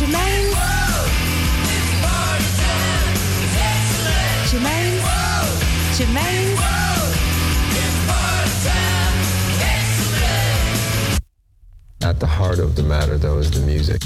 At the heart of the matter, though, is the music.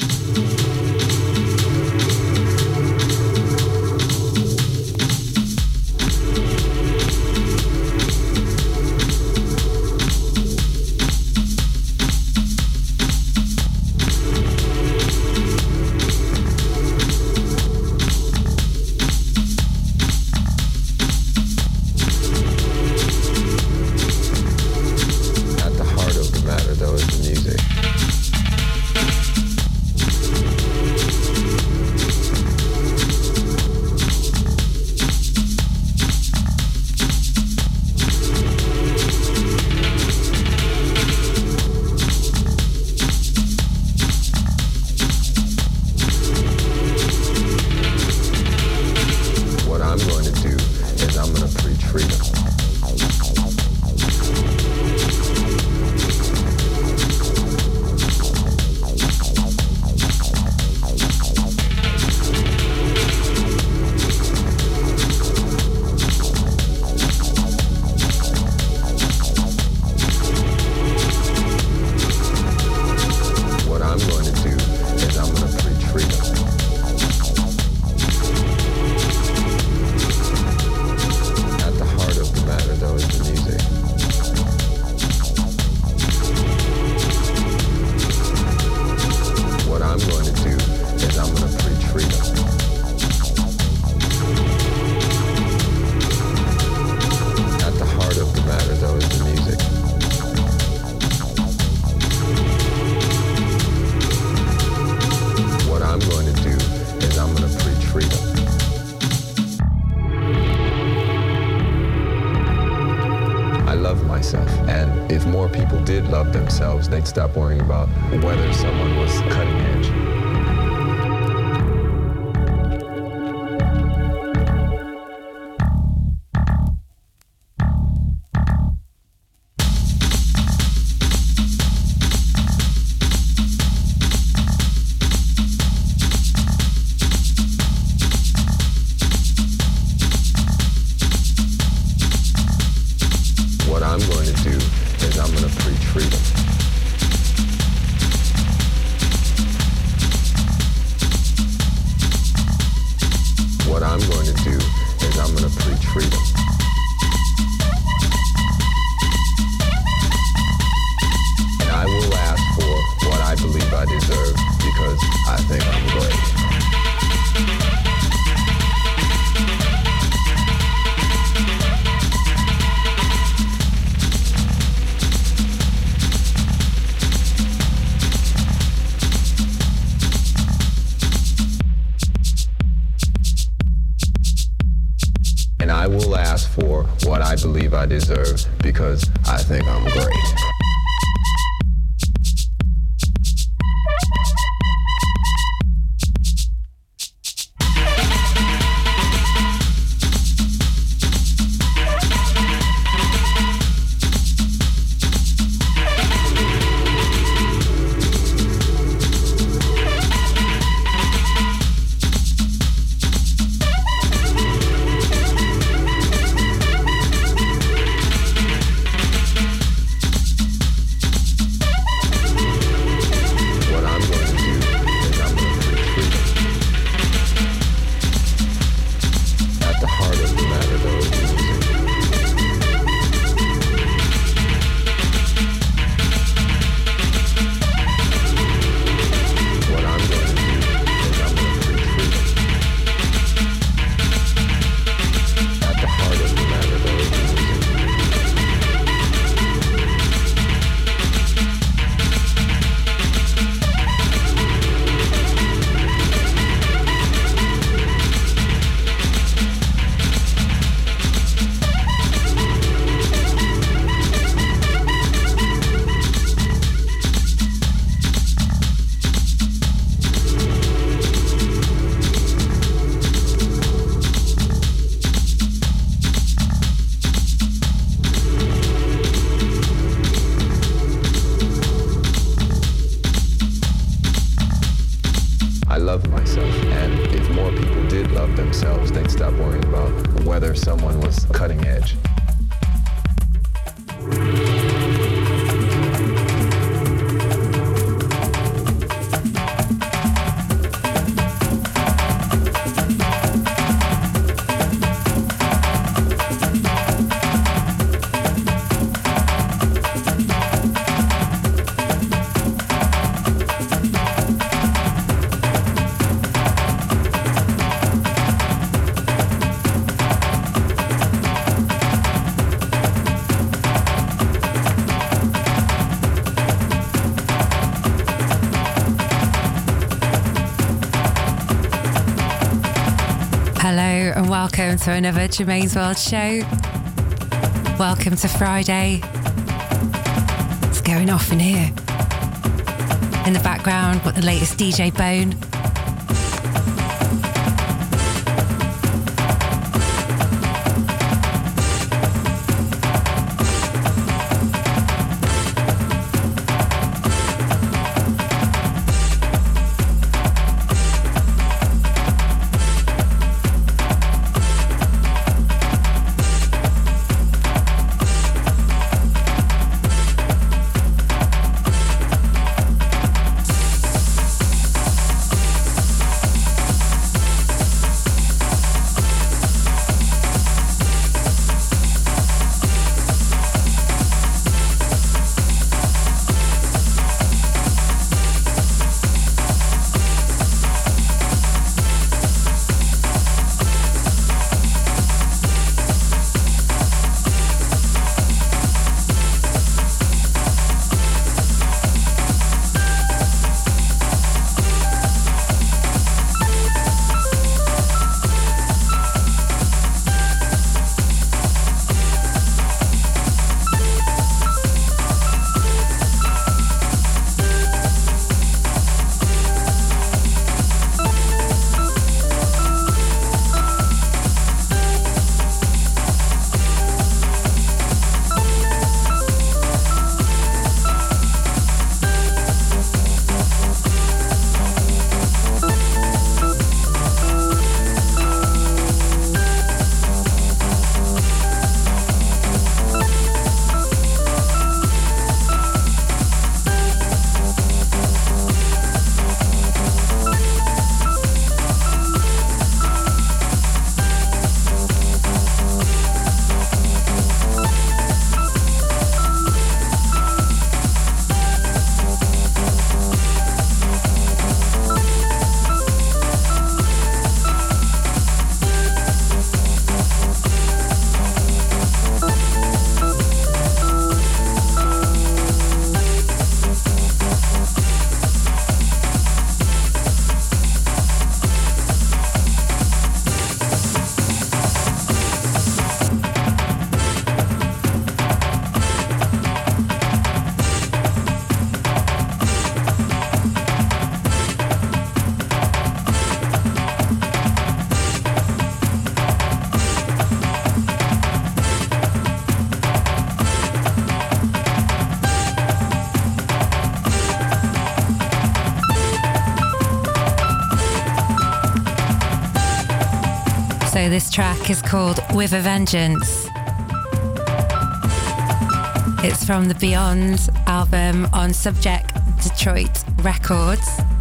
They'd stop worrying about whether someone was cutting edge. What I'm going to do is I'm going to preach freedom. What I'm going to do is I'm going to preach freedom. And I will ask for what I believe I deserve because I think I'm great. I will ask for what I believe I deserve because I think I'm great. love myself. And if more people did love themselves, they'd stop worrying about whether someone was cutting edge. Welcome to another Germaine's World show. Welcome to Friday. It's going off in here. In the background, got the latest DJ Bone. So this track is called With a Vengeance. It's from the Beyond album on Subject Detroit Records.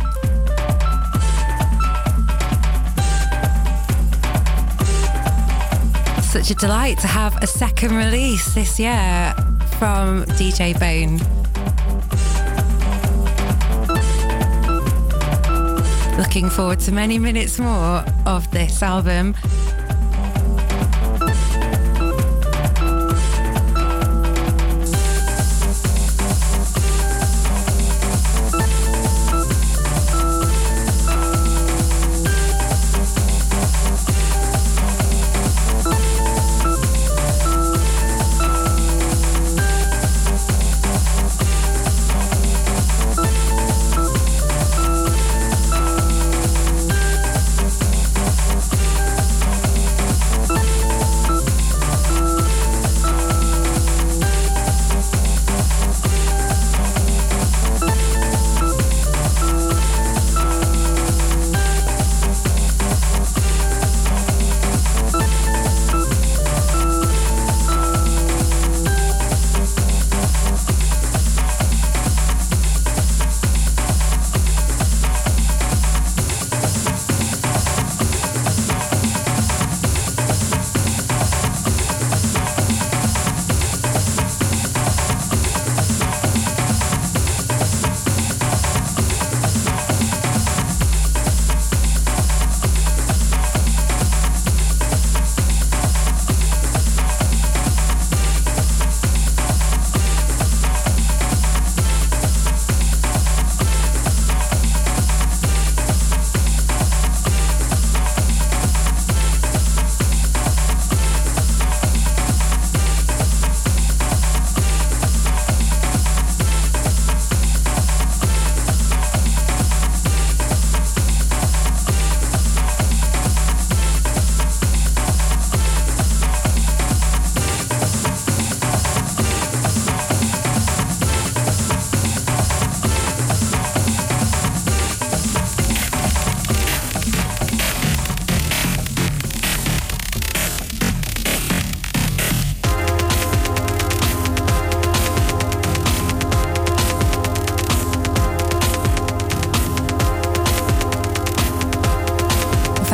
Such a delight to have a second release this year from DJ Bone. Looking forward to many minutes more of this album.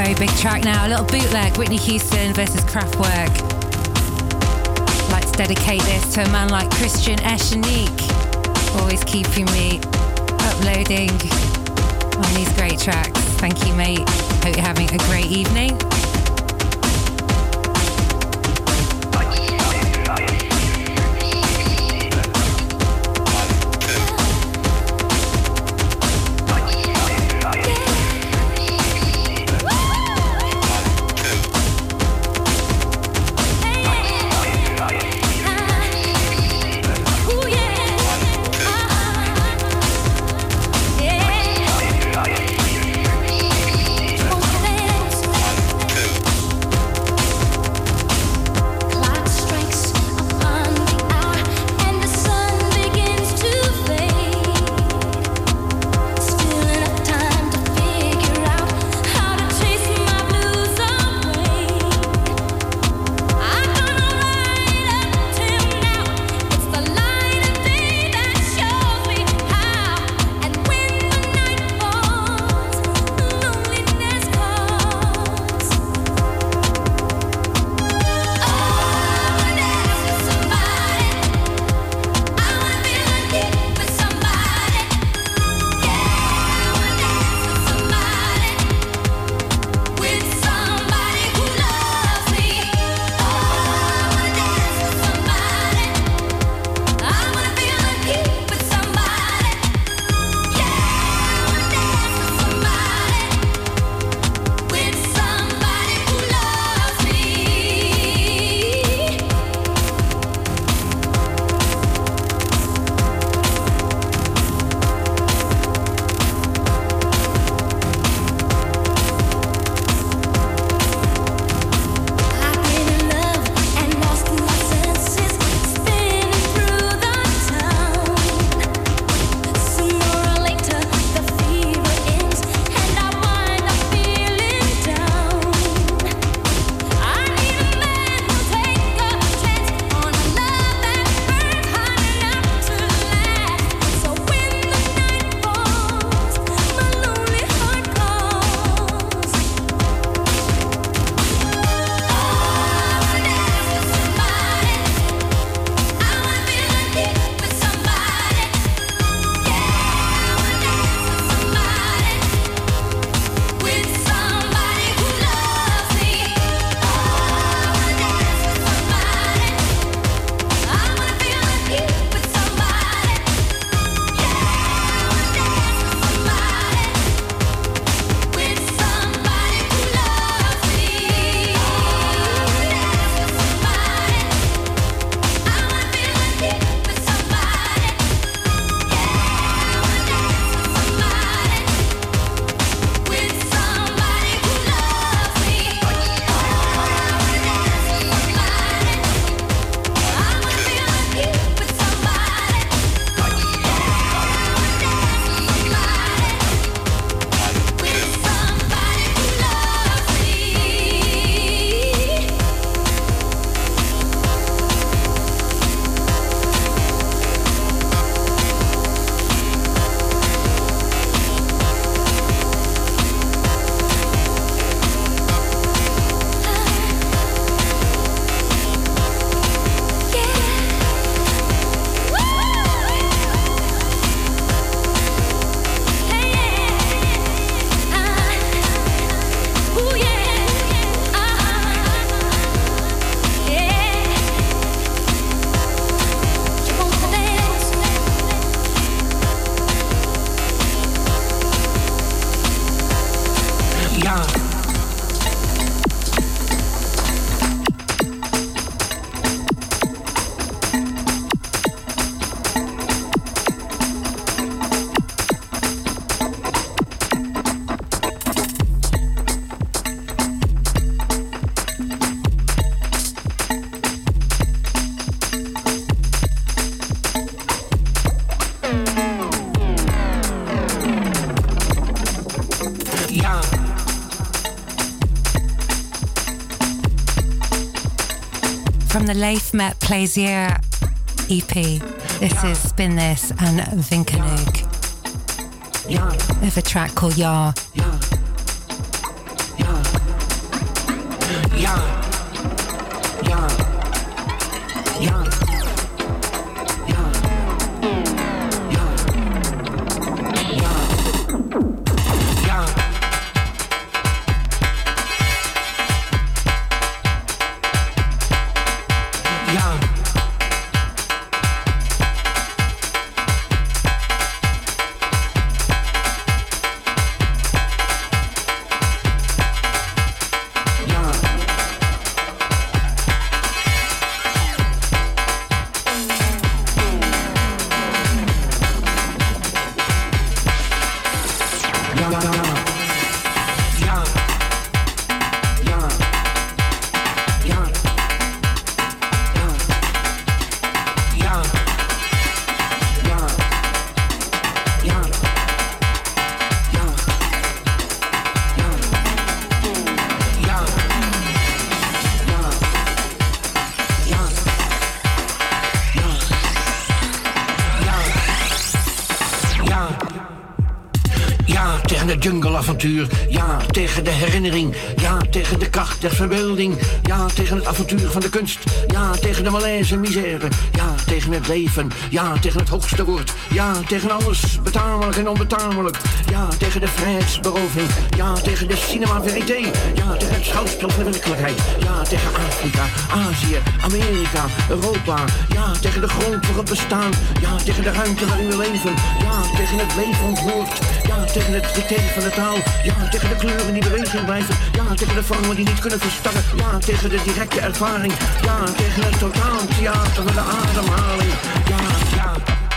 Very big track now, a little bootleg, Whitney Houston versus Kraftwerk. I'd like to dedicate this to a man like Christian Eschenique, always keeping me uploading on these great tracks. Thank you, mate. Hope you're having a great evening. From the Leif Met Plaisir EP, this is Spin This and Vinkenhoog. They have a track called Yar. Jungle-avontuur, ja, tegen de herinnering. Ja, tegen de kracht der verbeelding. Ja, tegen het avontuur van de kunst. Ja, tegen de malaise en misère. Ja, tegen het leven. Ja, tegen het hoogste woord. Ja, tegen alles betamelijk en onbetamelijk. Ja, tegen de vrijheidsberoving. Ja, tegen de cinema verité. Ja, tegen het schouwspel van de werkelijkheid. Ja, tegen Afrika, Azië, Amerika, Europa. Ja, tegen de grond voor het bestaan. Ja, tegen de ruimte waarin we leven. Ja, tegen het leven ontwoord. Ja, tegen het dicté van de taal. Ja, tegen de kleuren die beweging blijven. Ja, tegen de vormen die niet kunnen verstarren. Ja, tegen de directe ervaring. Ja, tegen het totaaltheater van de ademhaling. Ja, ja.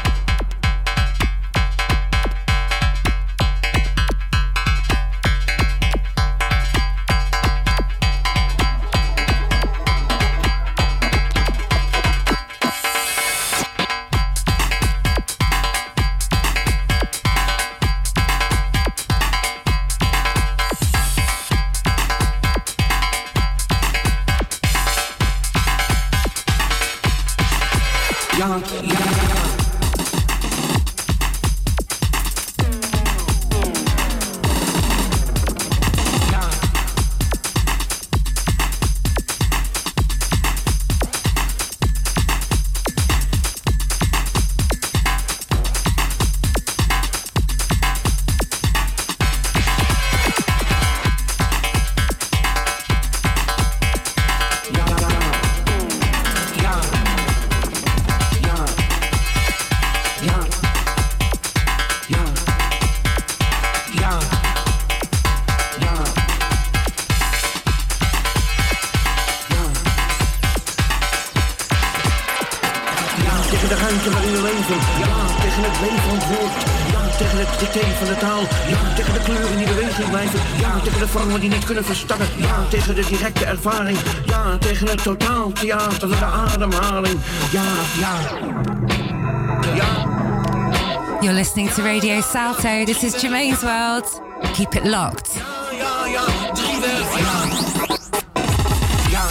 Die niet kunnen verstarren. Ja, tegen de directe ervaring. Ja, tegen het totaaltheater van de ademhaling. Ja, ja. Ja. You're listening to Radio Salto. This is Germaine's World. Keep it locked. Ja, ja, ja. Driewerf. Ja. Ja.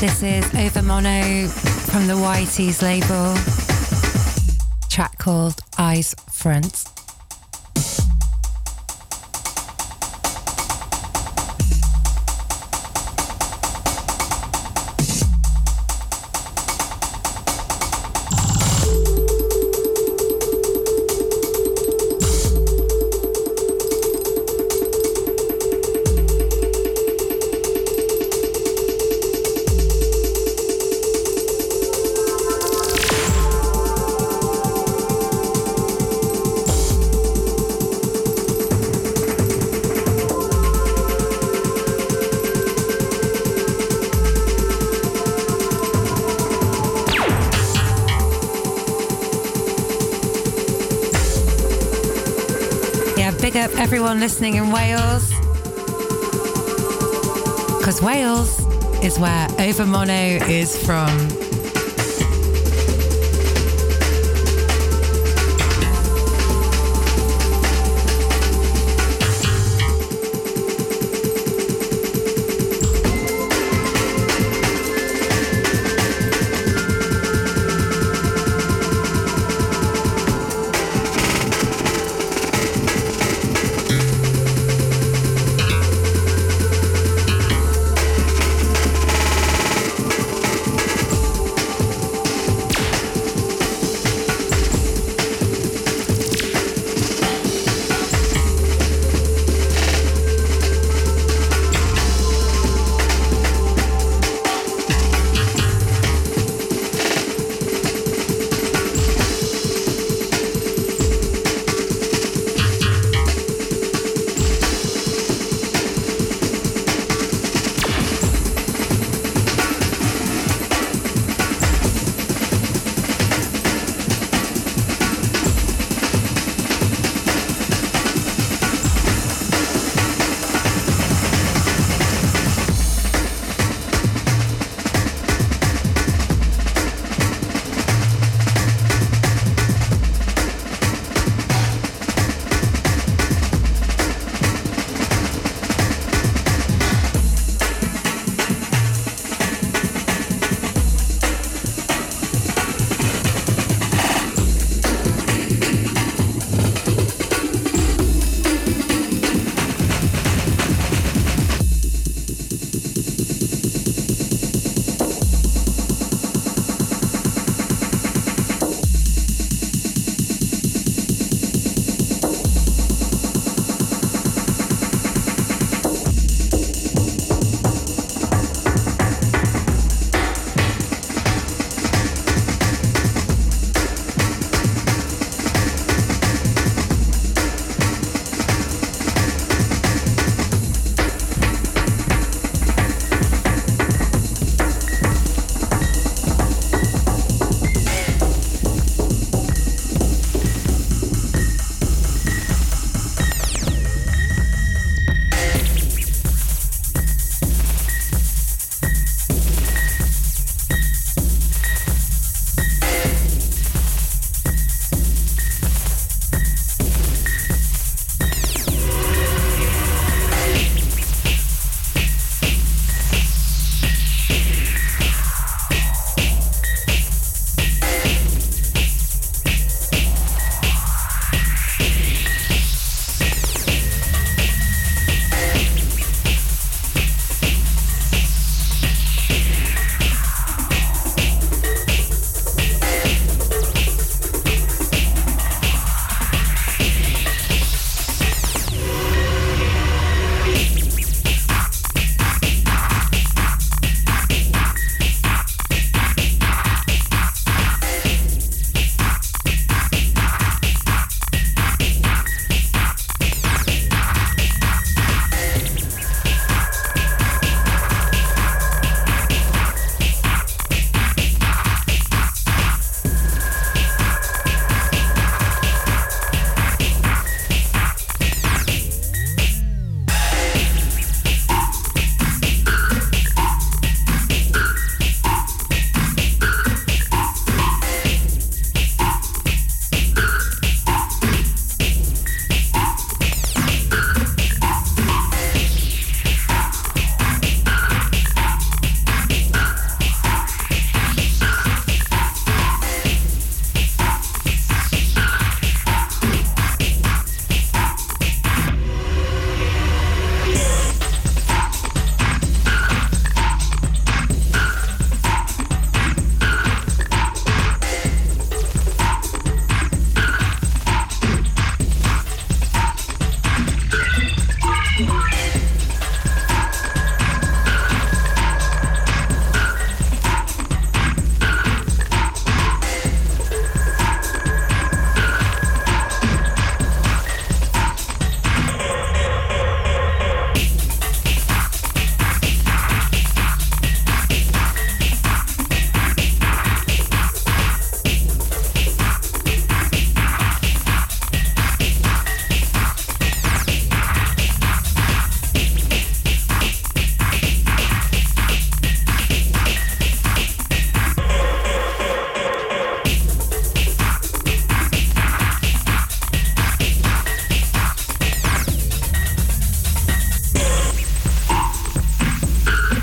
This is Over Mono from the Whitey's label. Track called Eyes Front. Big up everyone listening in Wales, because Wales is where Over Mono is from.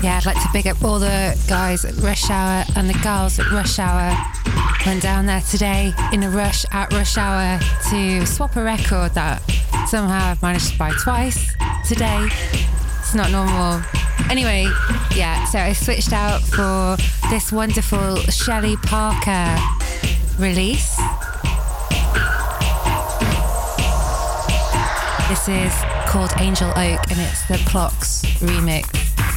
Yeah, I'd like to big up all the guys at Rush Hour and the girls at Rush Hour. Went down there today in a rush at Rush Hour to swap a record that somehow I've managed to buy twice today. It's not normal. Anyway, yeah, so I switched out for this wonderful Shelley Parker release. This is called Angel Oak and it's the Clocks remix.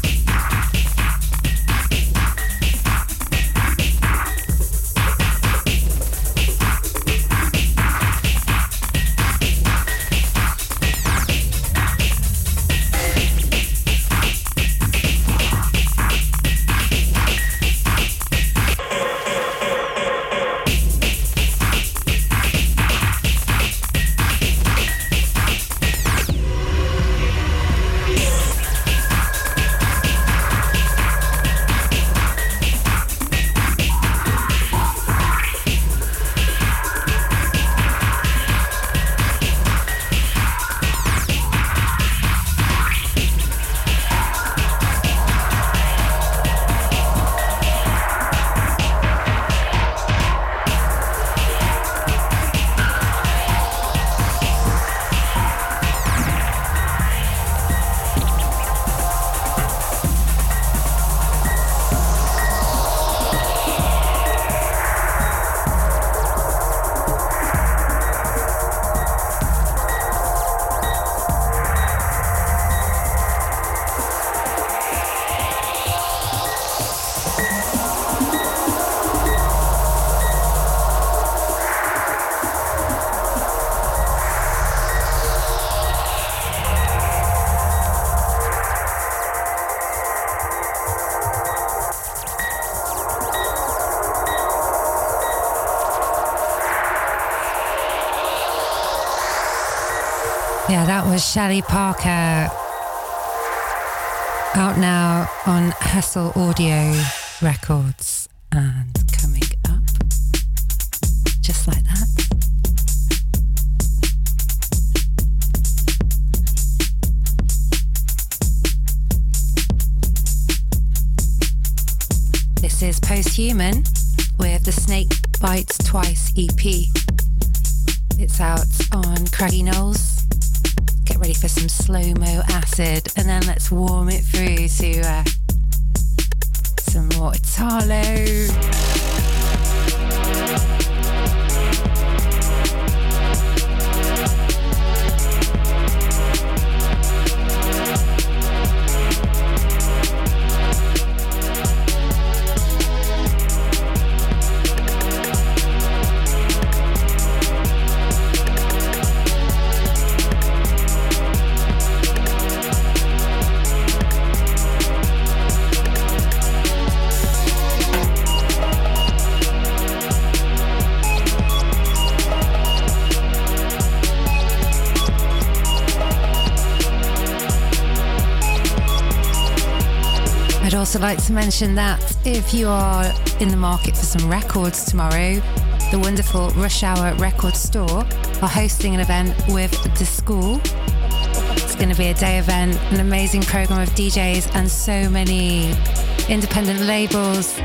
Yeah, that was Shelley Parker, out now on Hustle Audio Records and coming up just like that. This is Posthuman with the Snake Bites Twice EP. It's out on Craggy Knolls. Get ready for some slow-mo acid and then let's warm it through to some more Italo. I'd also like to mention that if you are in the market for some records tomorrow, the wonderful Rush Hour Record Store are hosting an event with The School. It's going to be a day event, an amazing program of DJs and so many independent labels.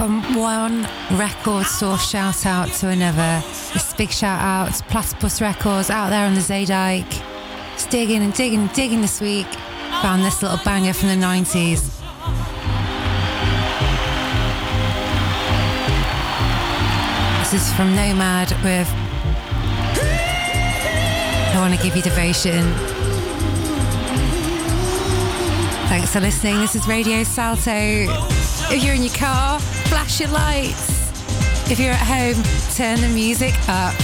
From one record source shout out to another. This big shout out to Platypus Records out there on the Zaydike. Just digging and digging and digging this week. Found this little banger from the 90s. This is from Nomad with I Want to Give You Devotion. Thanks for listening. This is Radio Salto. If you're in your car, flash your lights. If you're at home, turn the music up.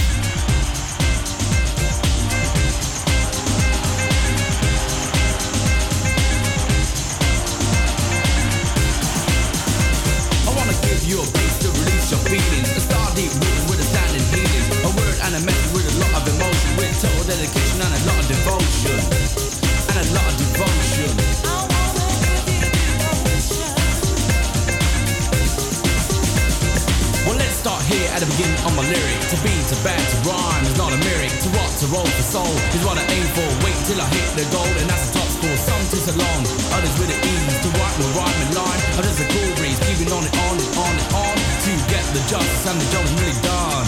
I want to give you a place to release your feelings. A star deep rhythm with a standing healing. A word and a message with a lot of emotion. With total dedication and a lot of devotion. And a lot of devotion. Well, let's start here at the beginning of my lyric. To be, to bad, to rhyme is not a lyric. To rock, to roll, to soul is what I aim for. Wait till I hit the goal, and that's the top score. Some too so long, others with the ease. To write will rhyme and line. I'm just a cool breeze, keeping on and on and on and on. To get the justice and the job is really done.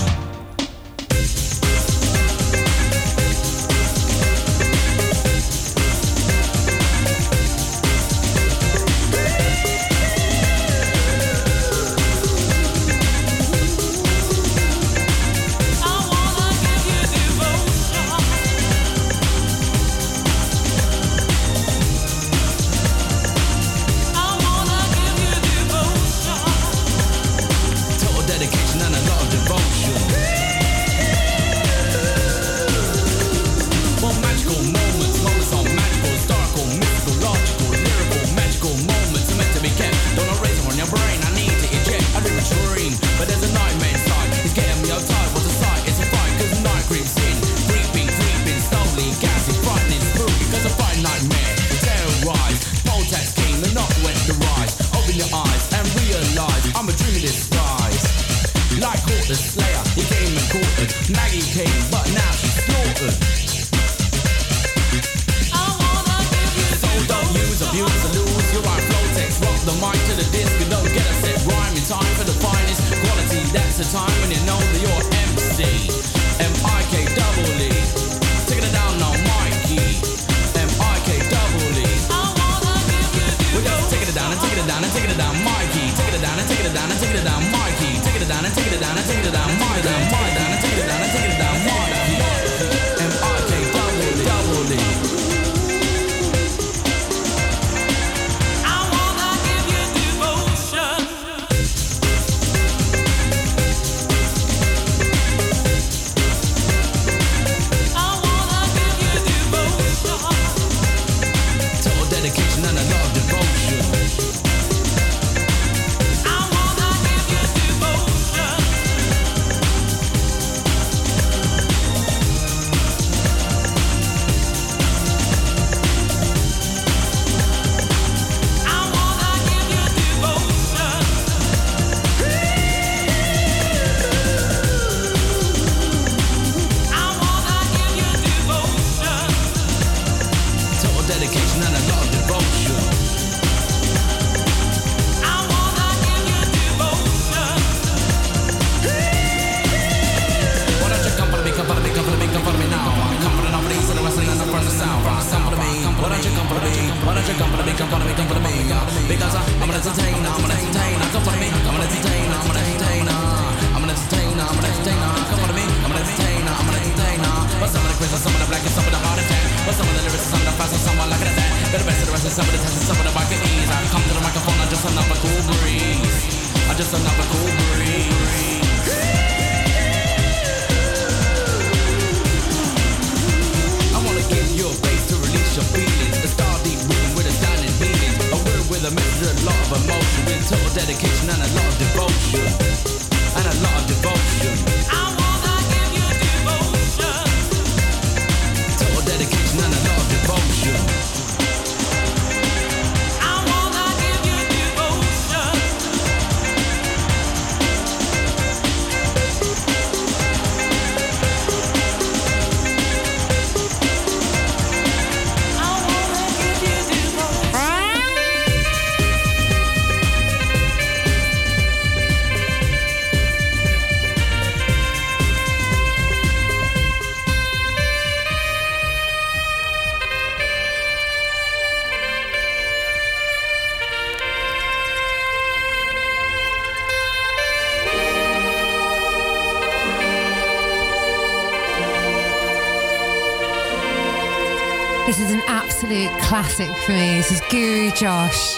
This is an absolute classic for me. This is Guru Josh.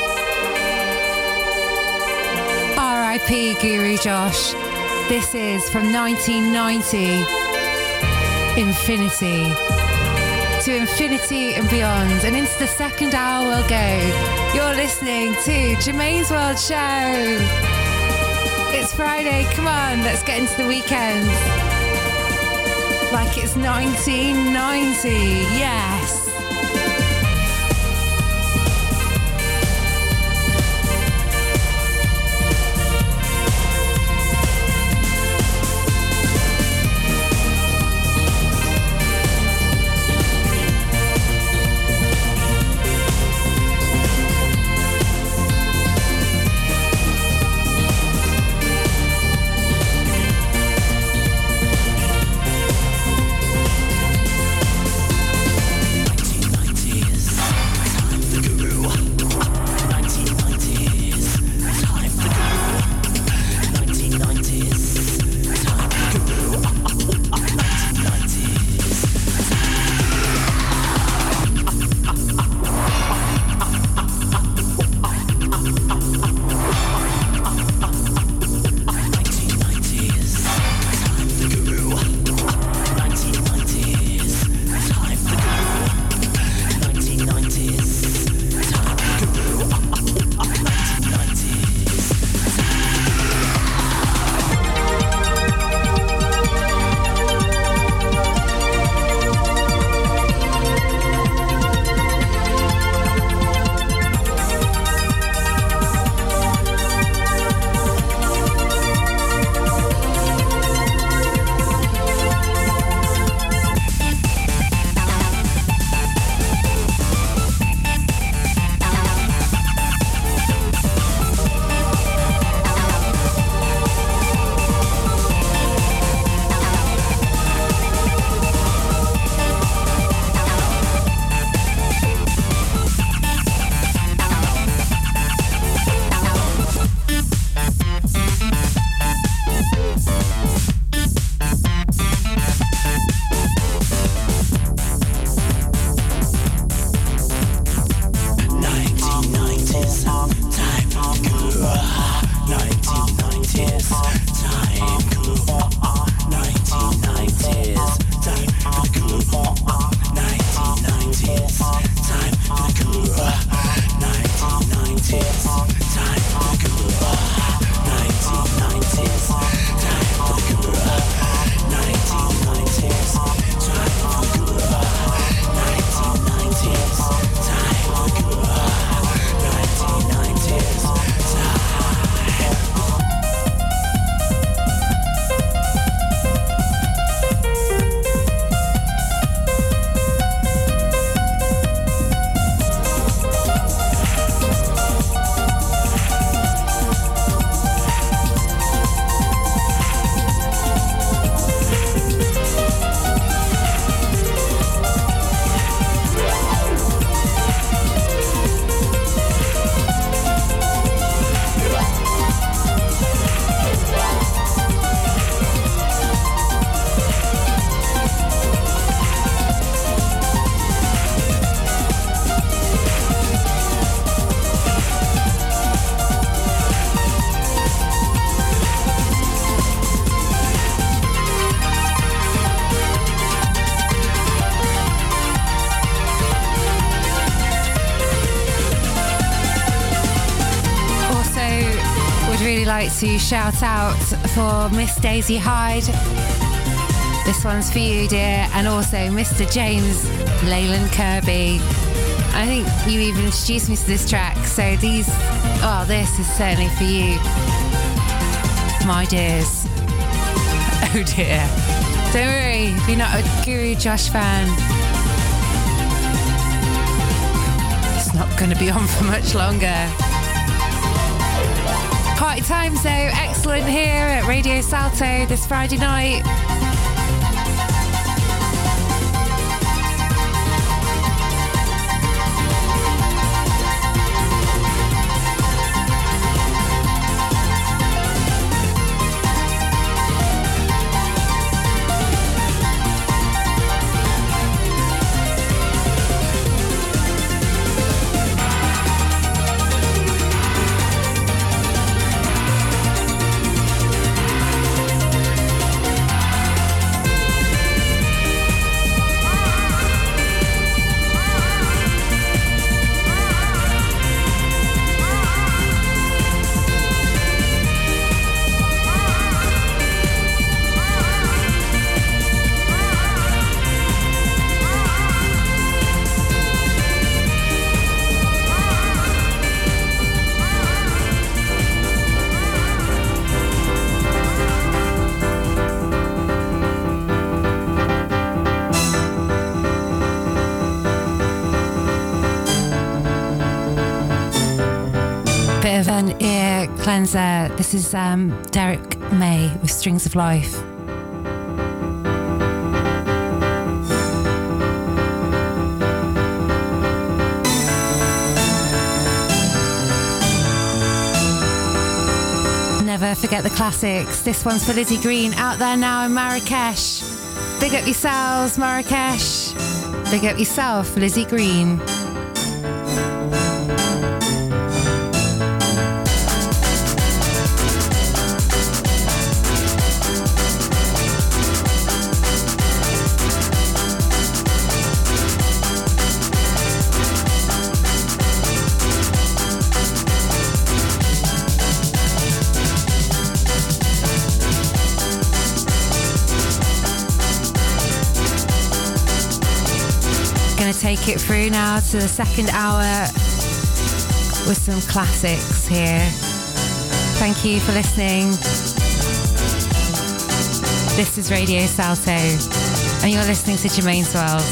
R.I.P. Guru Josh. This is from 1990. Infinity. To infinity and beyond. And into the second hour we'll go. You're listening to Germaine's World Show. It's Friday. Come on, let's get into the weekend. Like it's 1990. Yes. To shout out for Miss Daisy Hyde. This one's for you, dear, and also Mr. James Leyland Kirby. I think you even introduced me to this track, so this is certainly for you, my dears. Oh dear. Don't worry, if you're not a Guru Josh fan, it's not going to be on for much longer. Party times though, excellent here at Radio Salto this Friday night. Bit of an ear cleanser. This is Derek May with Strings of Life. Never forget the classics. This one's for Lizzie Green, out there now in Marrakesh. Big up yourselves, Marrakesh. Big up yourself, Lizzie Green. Take it through now to the second hour with some classics here. Thank you for listening. This is Radio Salto and you're listening to Germaine's World.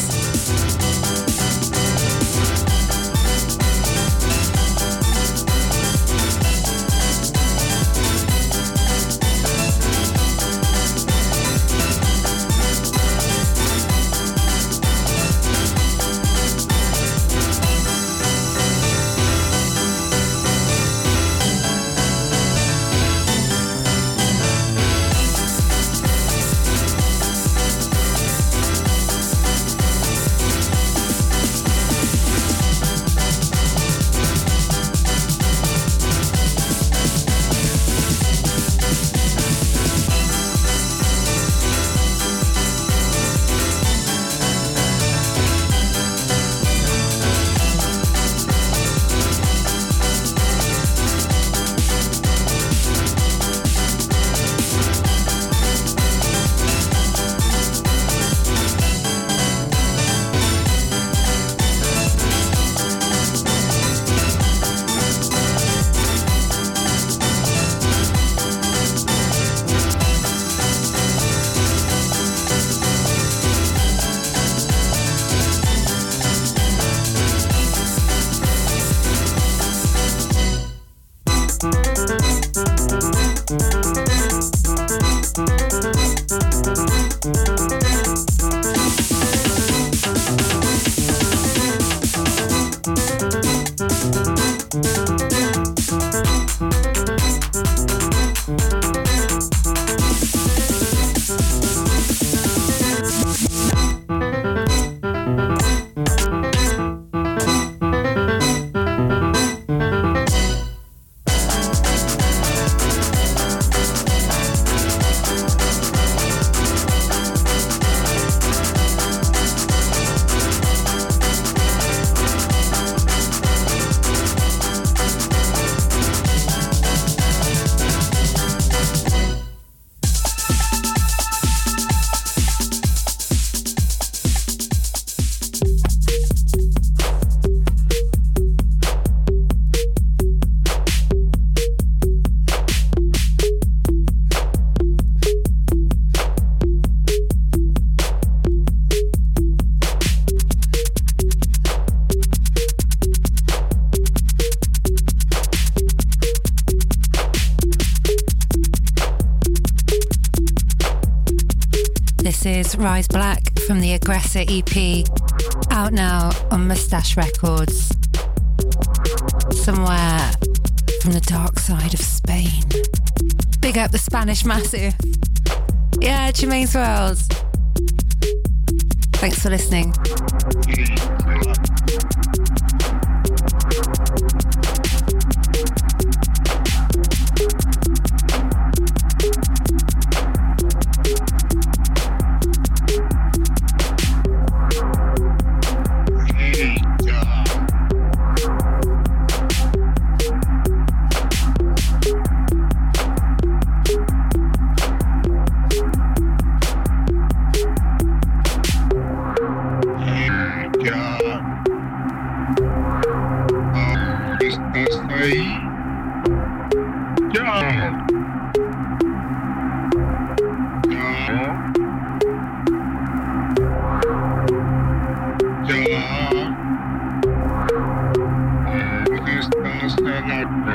Rise Black from the Aggressor EP, out now on Moustache Records. Somewhere from the dark side of Spain. Big up the Spanish Massive. Yeah, Germaine's World. Thanks for listening. Estás en la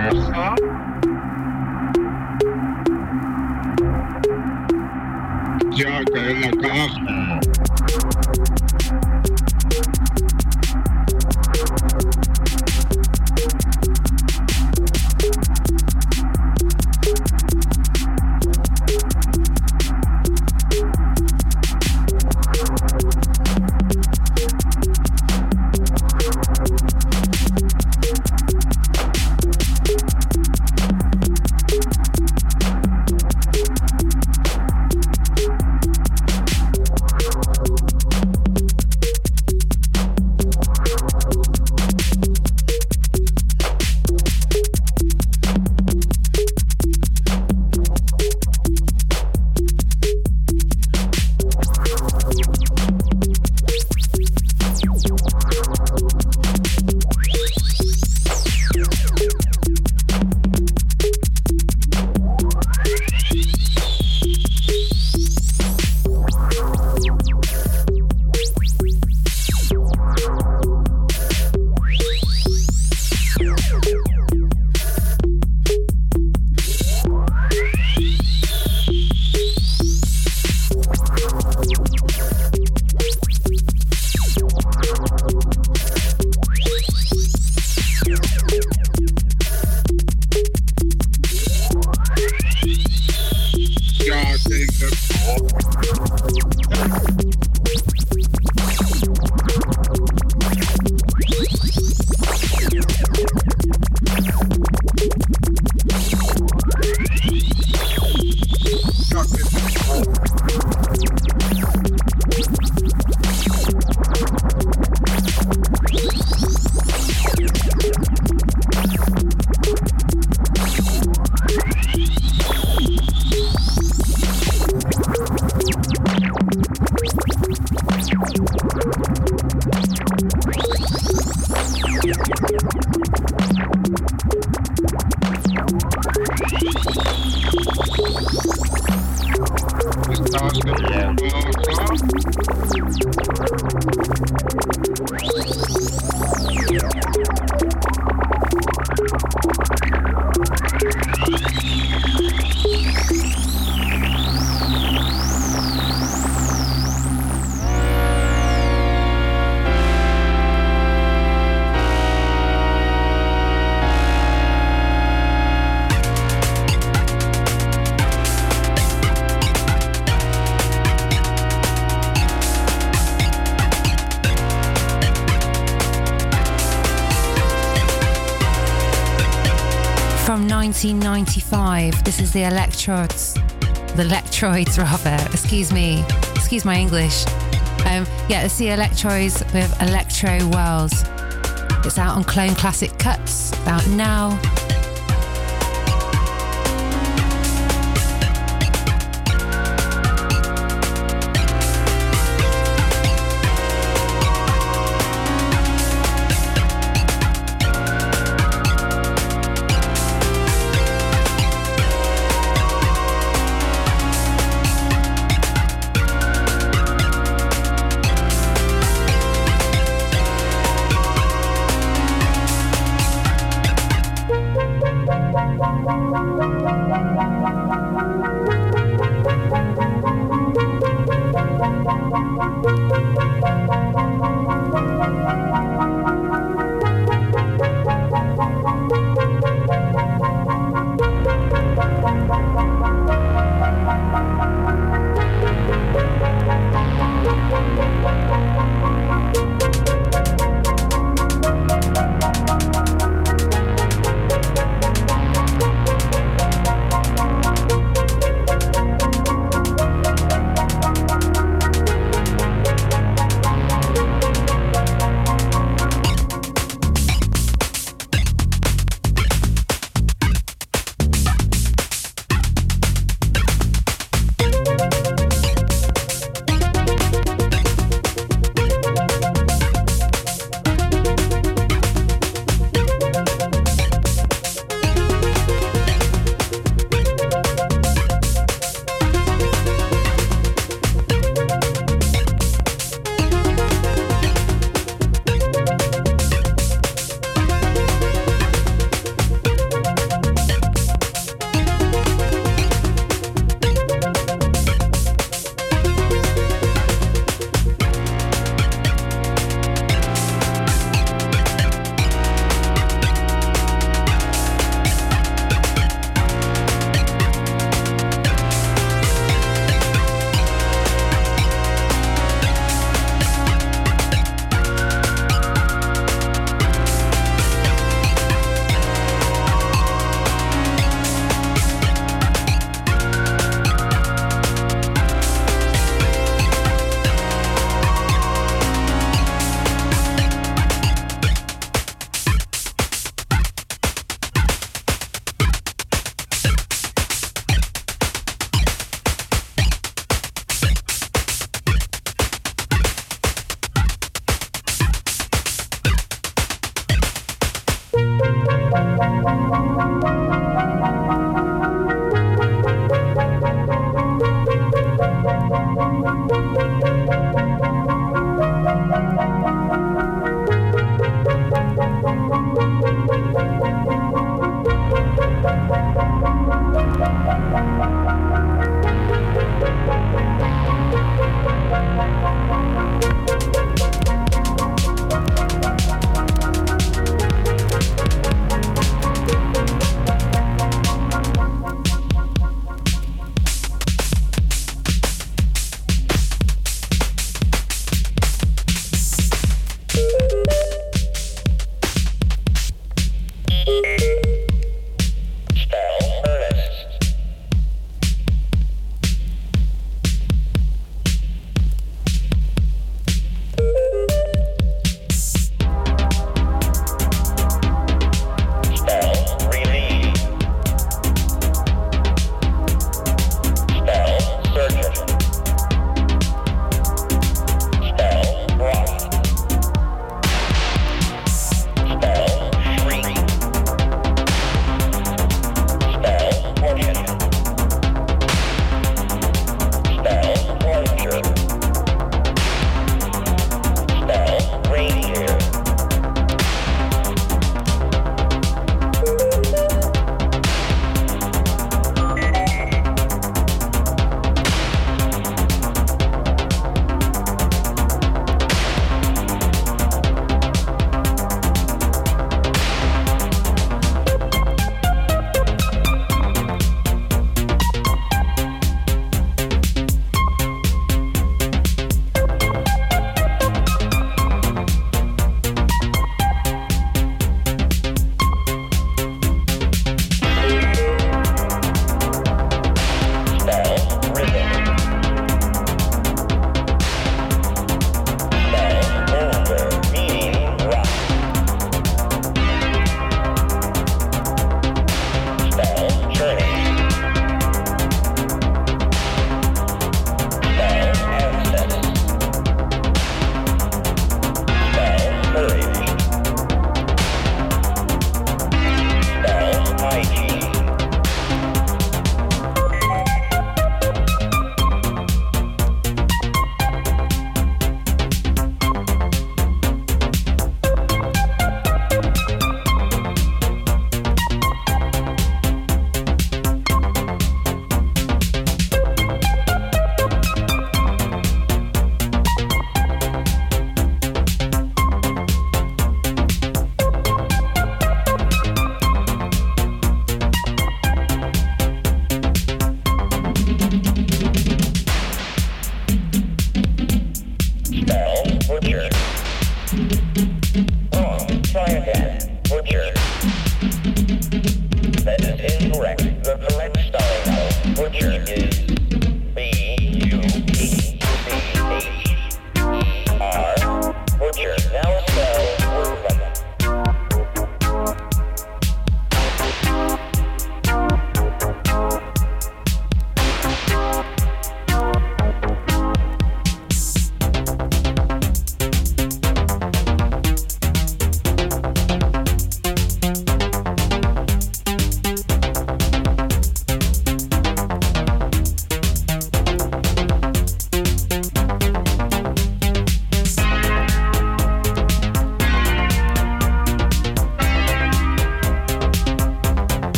From 1995, this is the Electroids rather, excuse my English. It's the Electroids with Electro World. It's out on Clone Classic Cuts, out now.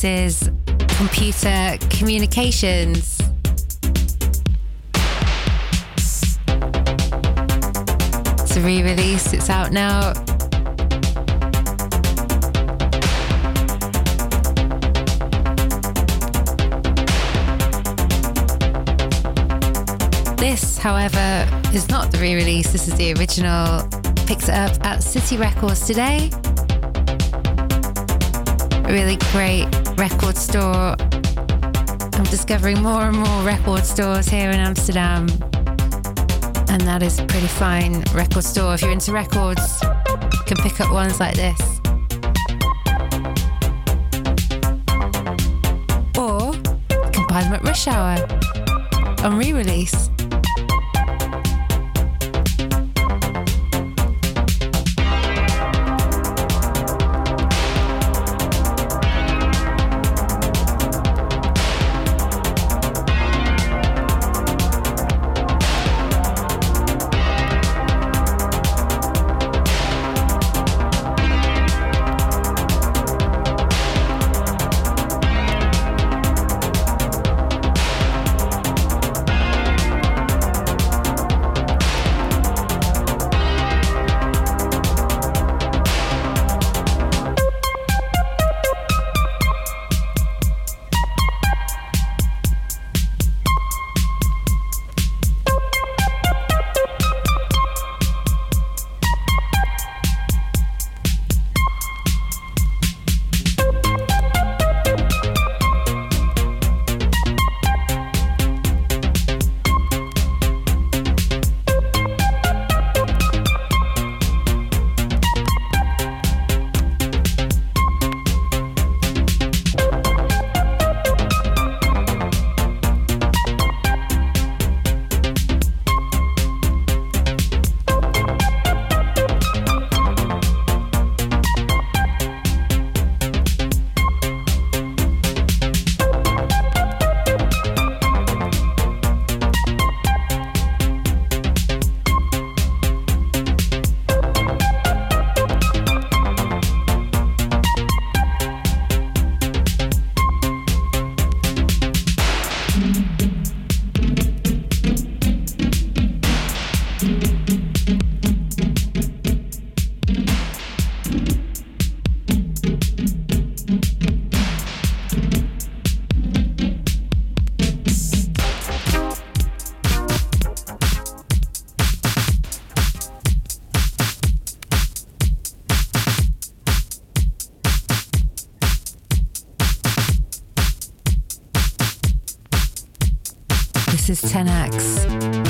is Computer Communications. It's a re-release, it's out now. This, however, is not the re-release, this is the original. Picks it up at City Records today. A really great record store. I'm discovering more and more record stores here in Amsterdam. And that is a pretty fine record store. If you're into records, you can pick up ones like this. Or you can buy them at Rush Hour on re-release. This is Tenax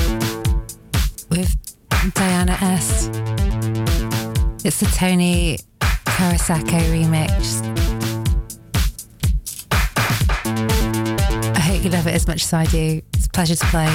with Diana S. It's the Tony Karasako remix. I hope you love it as much as I do. It's a pleasure to play.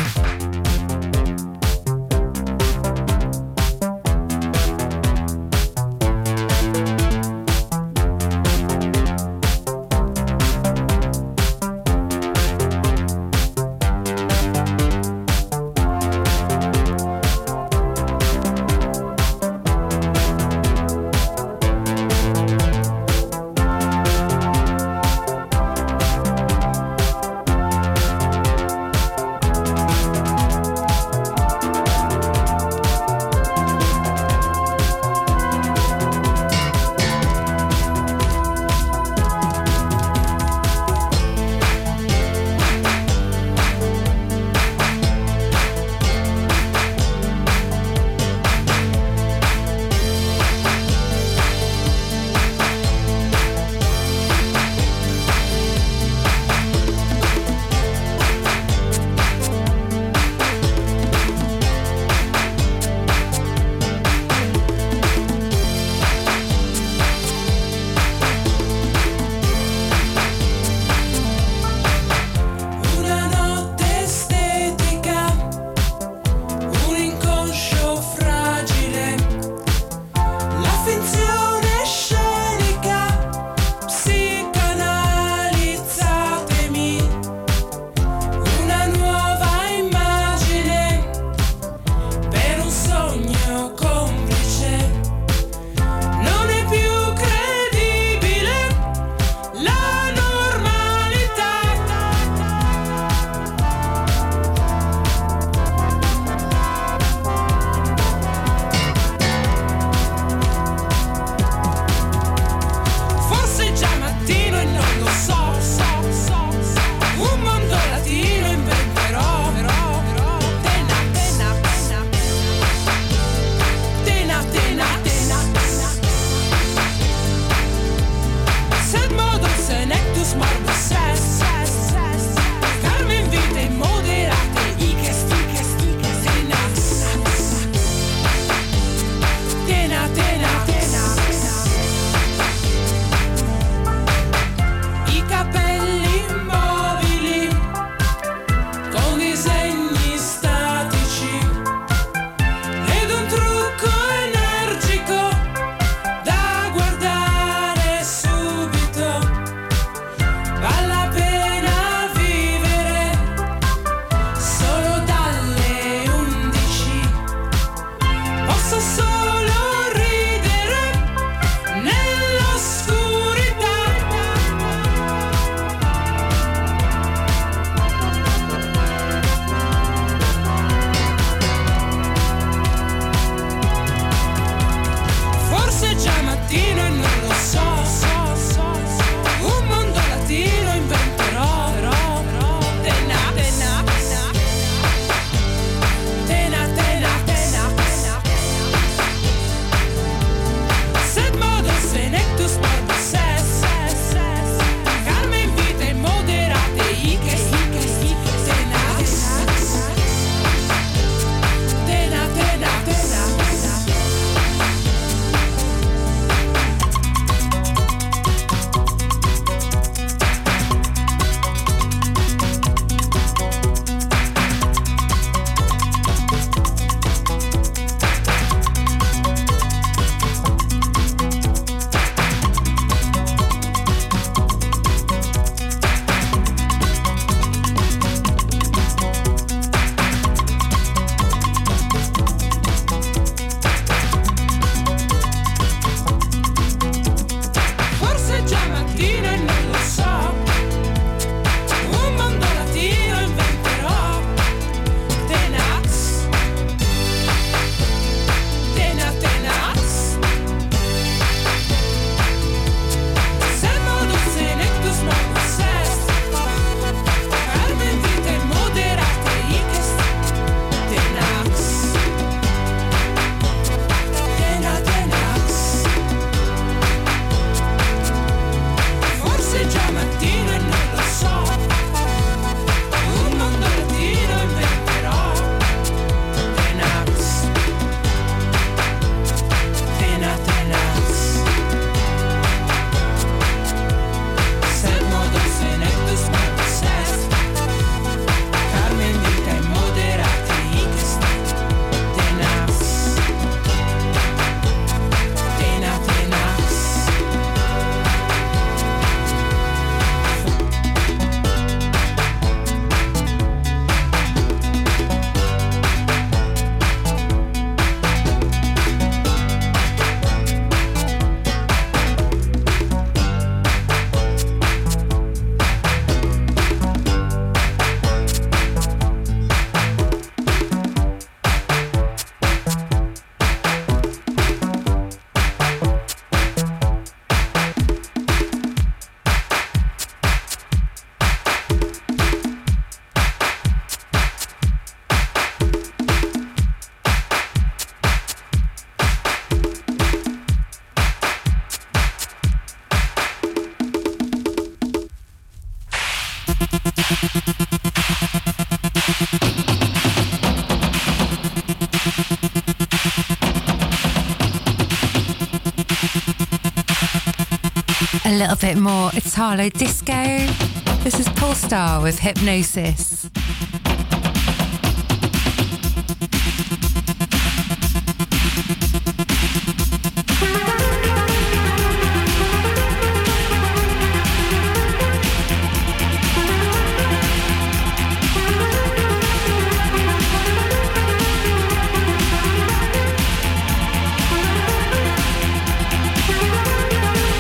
little bit more Italo disco. This is Polestar with Hypnosis.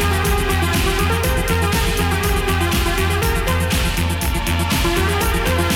We'll be right back.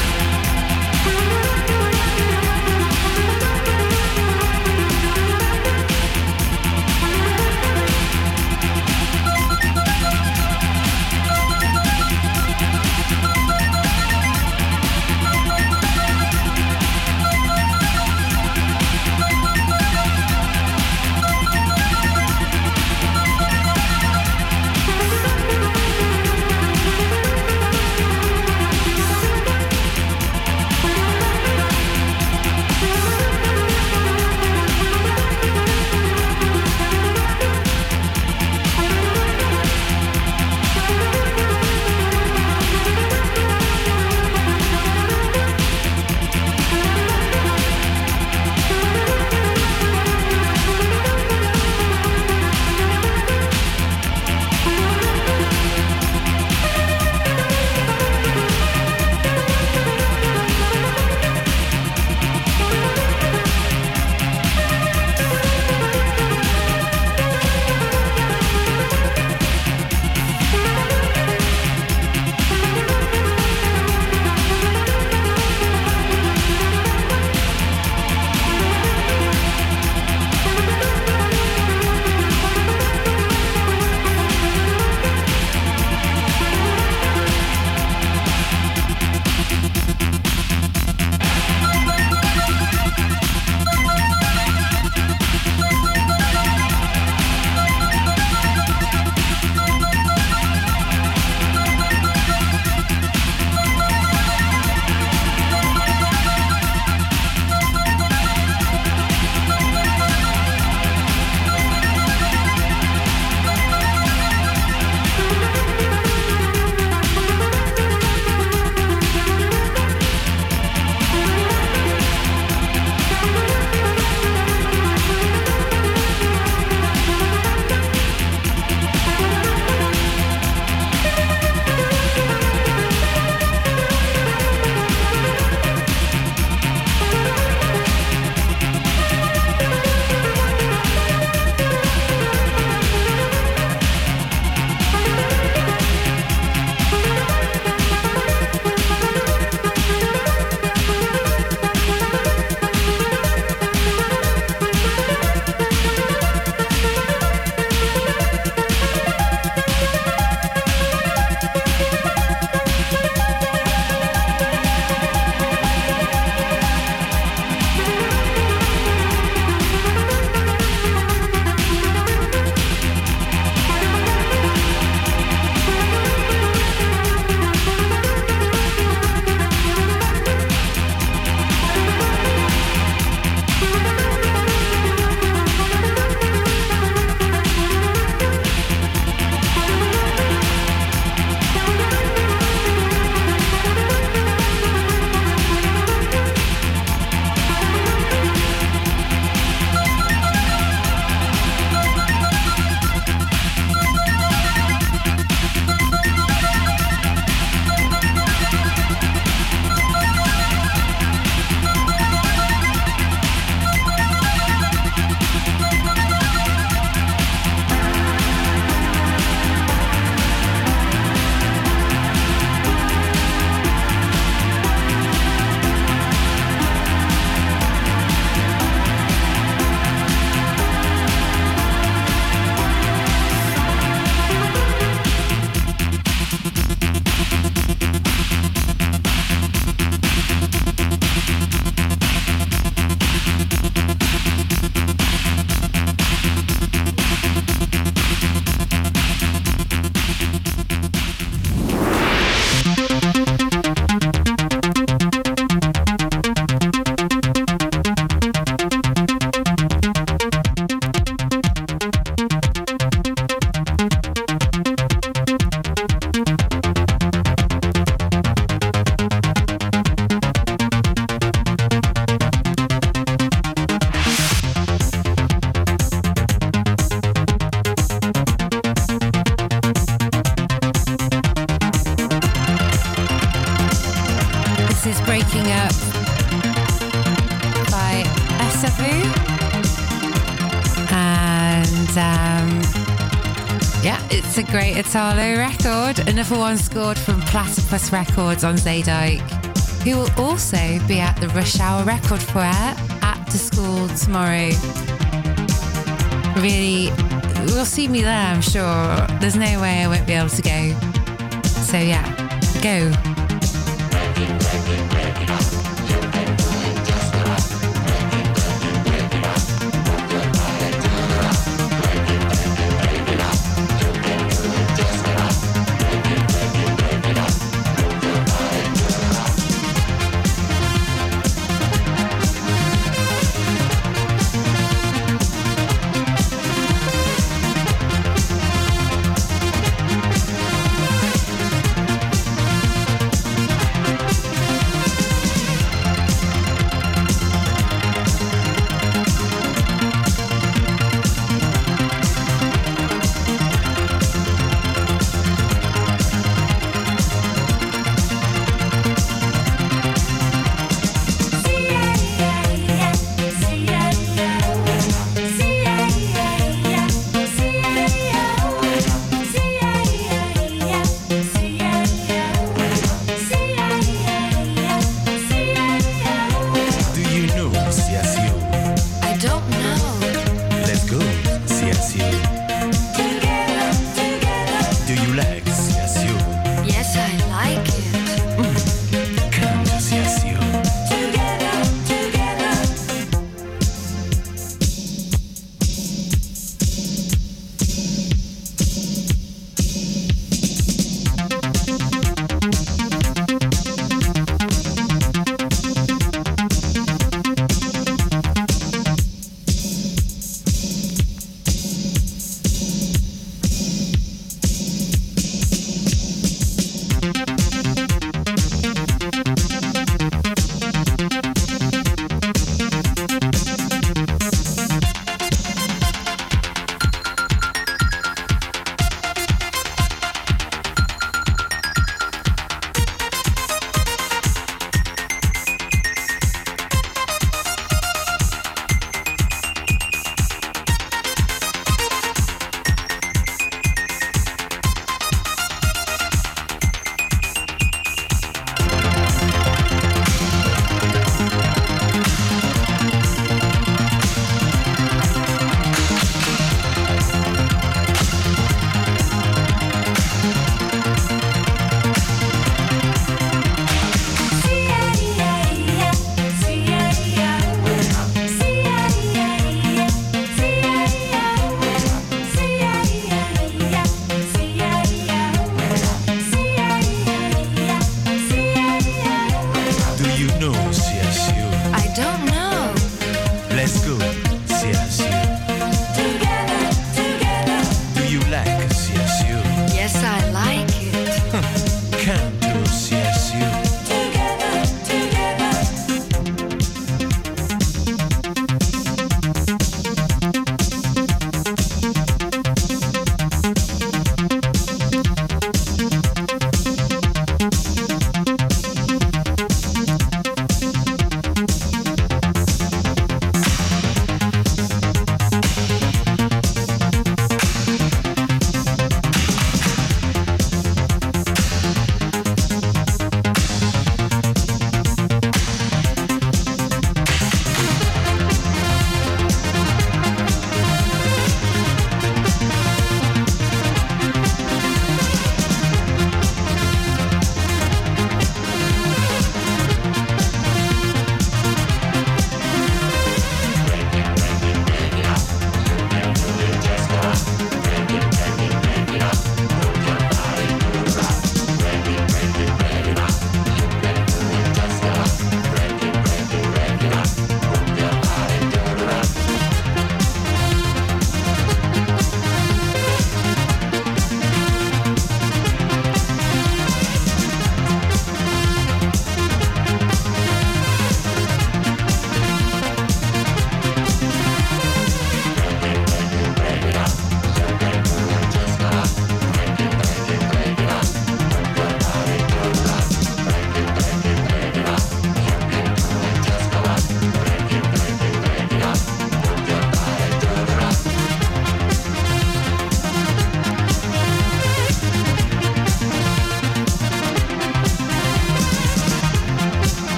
Savu. And yeah, it's a great Italo record. Another one scored from Platypus Records on Zaydike, who will also be at the Rush Hour Record Fair at the school tomorrow. Really, you'll see me there, I'm sure. There's no way I won't be able to go. So yeah, go.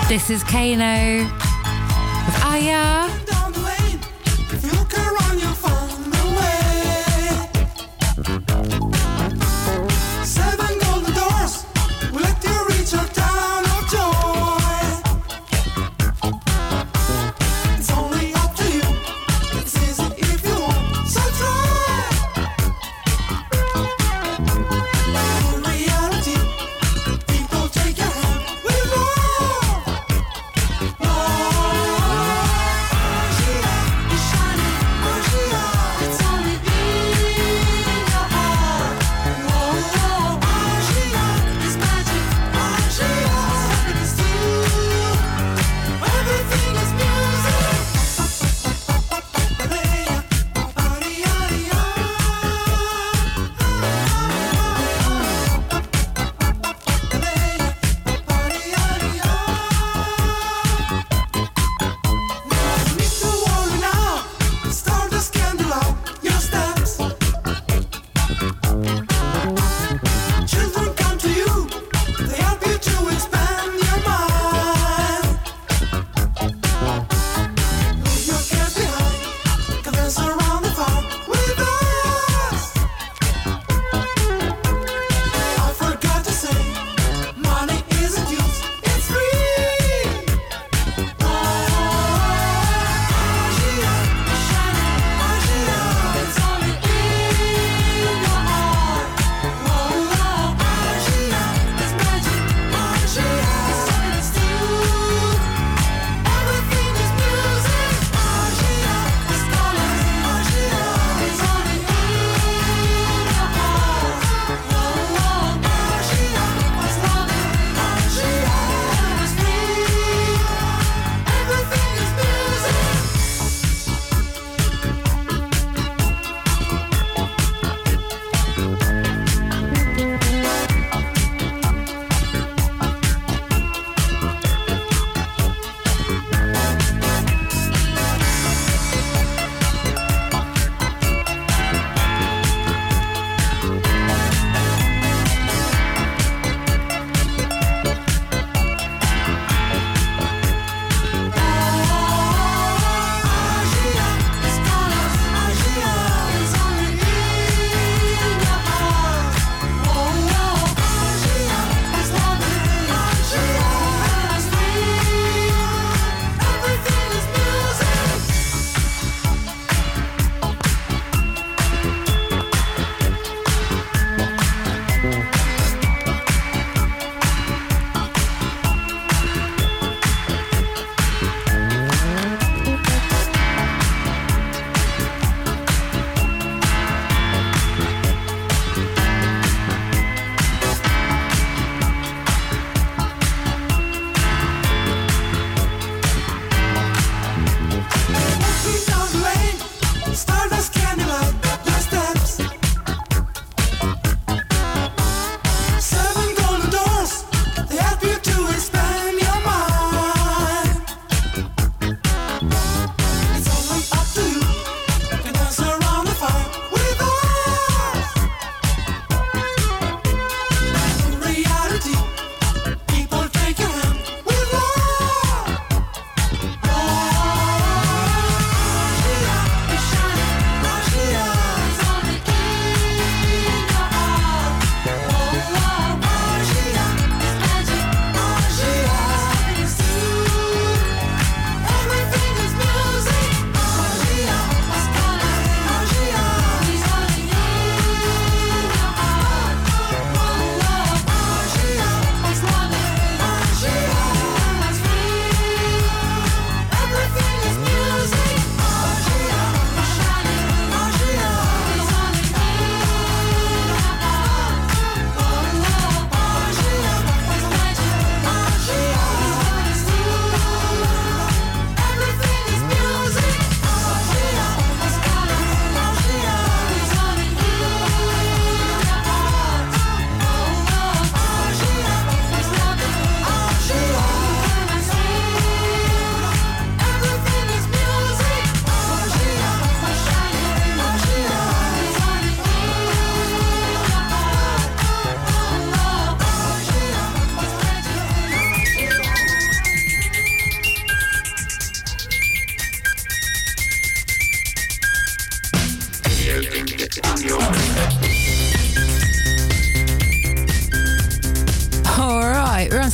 This is Kano with Aya. Down the lane, if you look around, you'll find the way. 7 golden doors will let you reach a town of joy. It's only up to you. It's easy if you want, so try. In reality, people take your hand with more.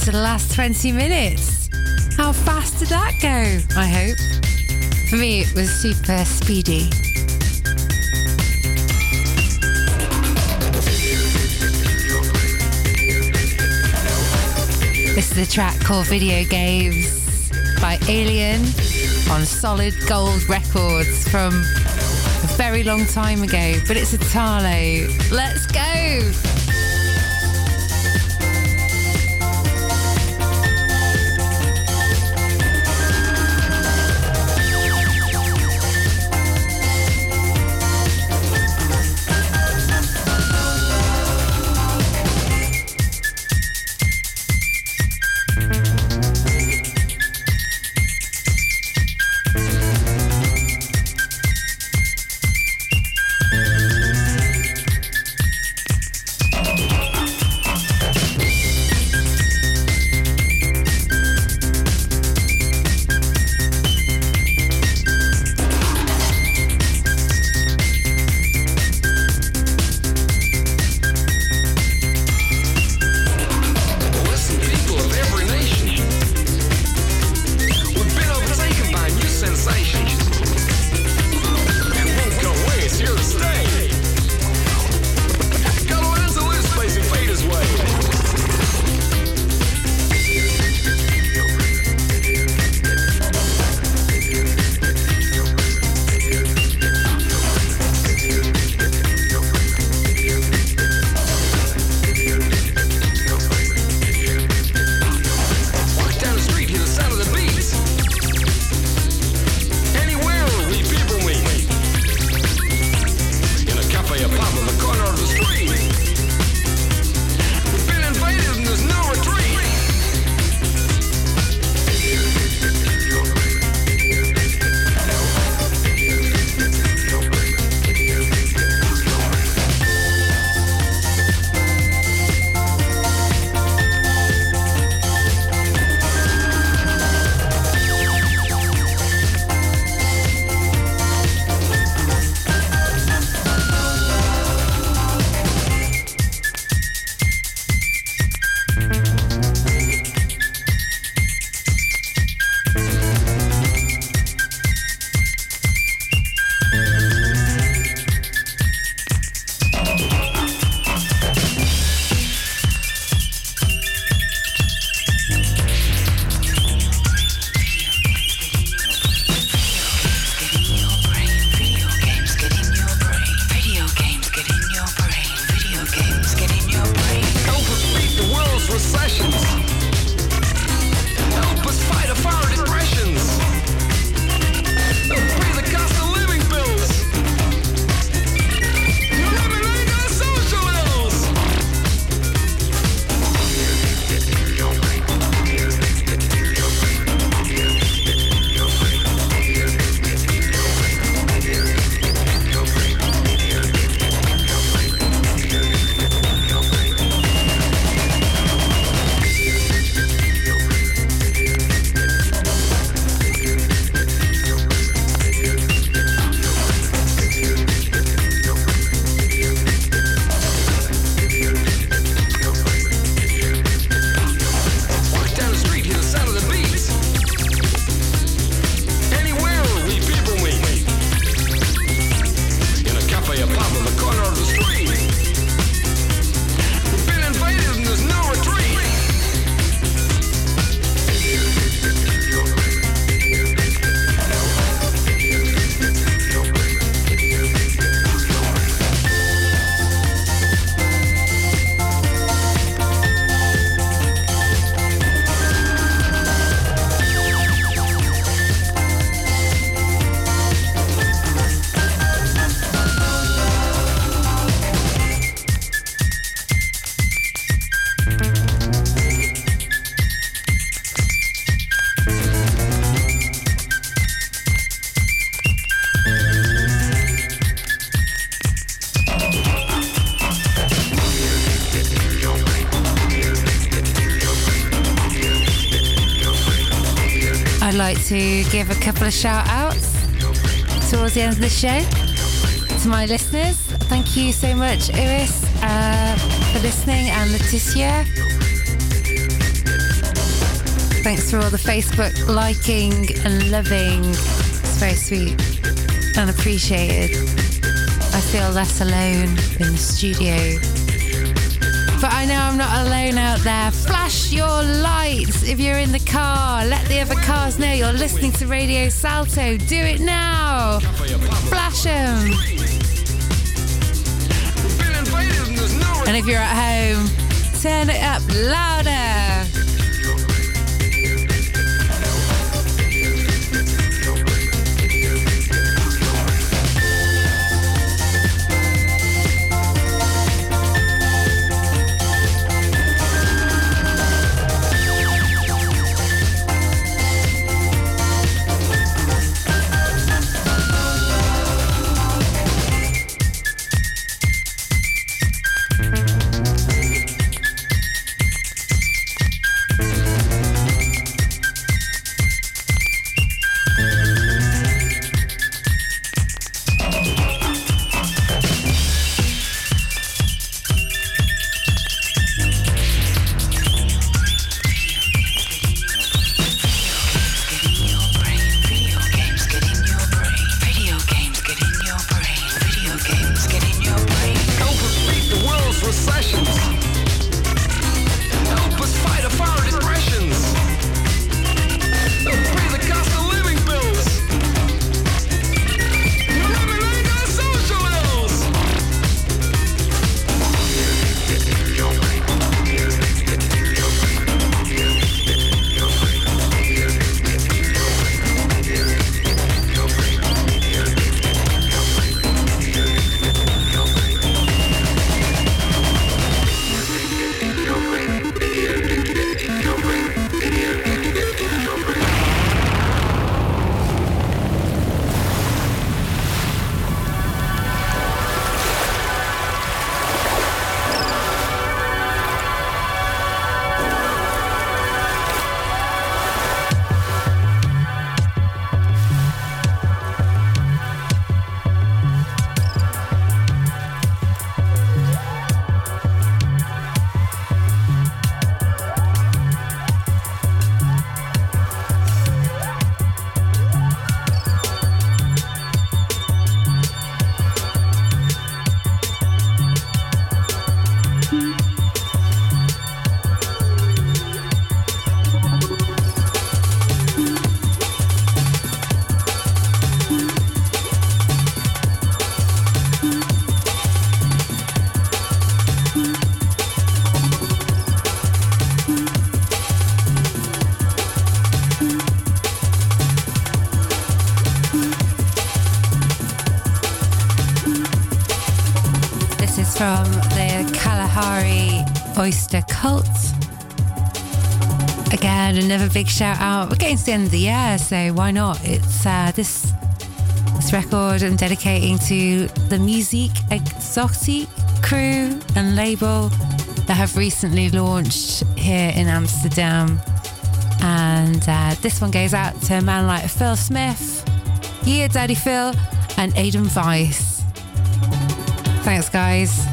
to the last 20 minutes. How fast did that go? I hope. For me, it was super speedy. This is a track called Video Games by Alien on Solid Gold Records from a very long time ago, but it's Italo. Let's go! I'd like to give a couple of shout outs towards the end of the show to my listeners. Thank you so much, Iris, for listening, and Leticia. Thanks for all the Facebook liking and loving. It's very sweet and appreciated. I feel less alone in the studio. But I know I'm not alone out there. Flash your lights if you're in the car. Let the other cars know you're listening to Radio Salto. Do it now. Flash them. And if you're at home, turn it up louder. From the Kalahari Oyster Cult. Again, another big shout out. We're getting to the end of the year, so why not? It's this record I'm dedicating to the Musique Exotique crew and label that have recently launched here in Amsterdam. And this one goes out to a man like Phil Smith, Yeah Daddy Phil, and Aidan Weiss. Thanks, guys.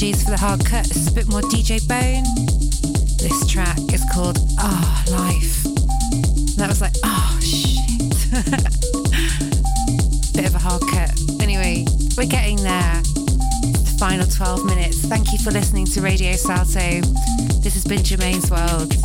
Apologies for the hard cut. It's a bit more DJ Bone. This track is called Life. And that was like, shit. Bit of a hard cut. Anyway, we're getting there. The final 12 minutes. Thank you for listening to Radio Salto. This has been Jermaine's World.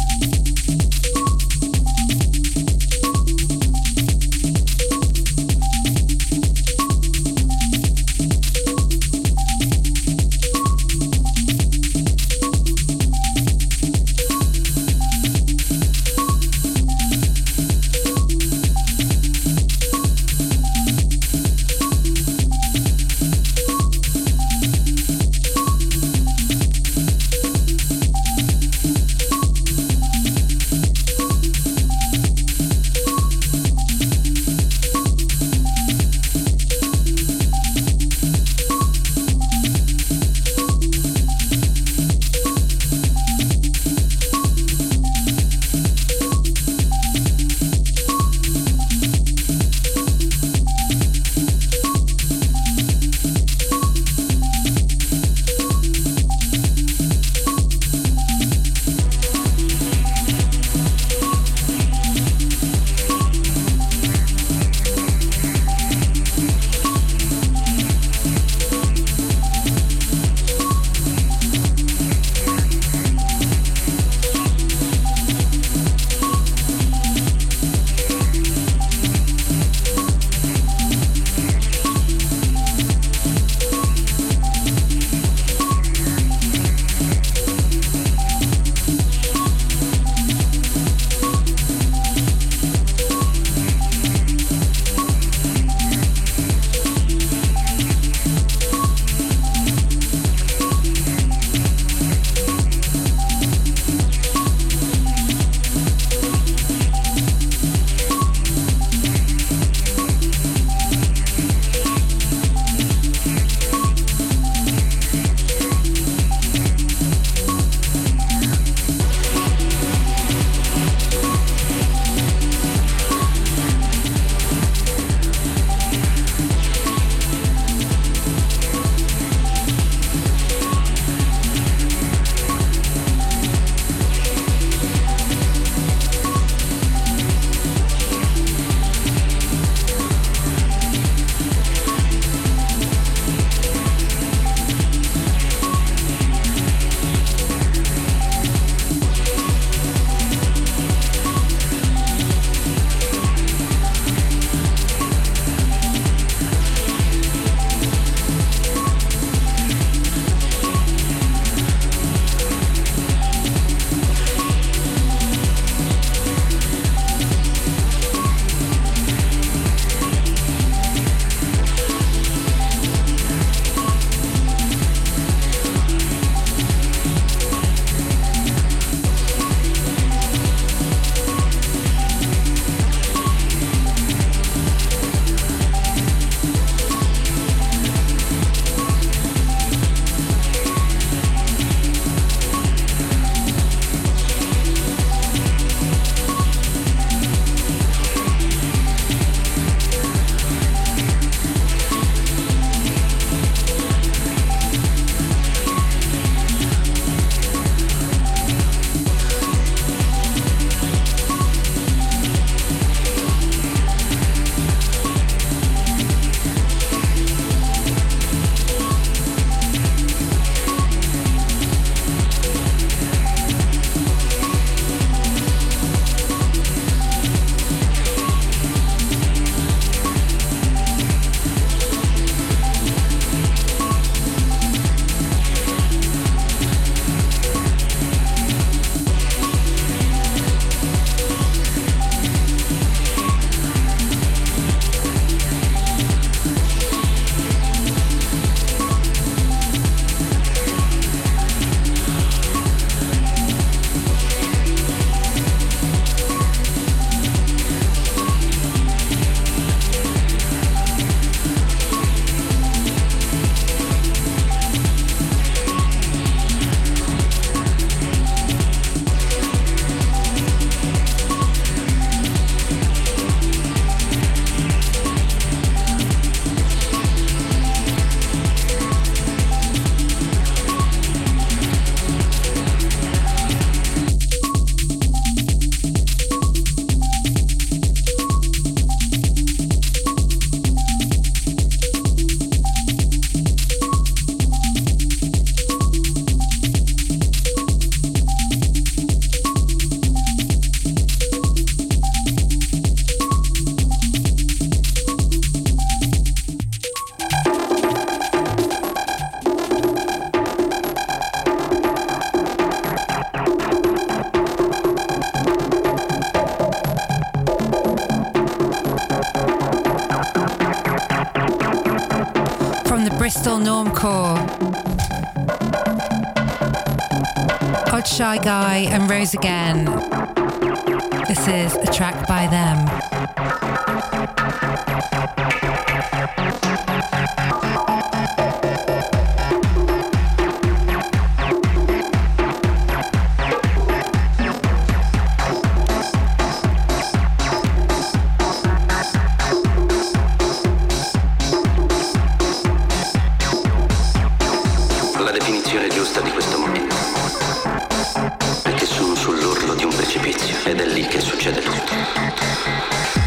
the Bristol Normcore. Odd Shy Guy and Rose Again. This is a track by them. La definizione giusta di questo momento, perché sono sull'orlo di un precipizio ed è lì che succede tutto.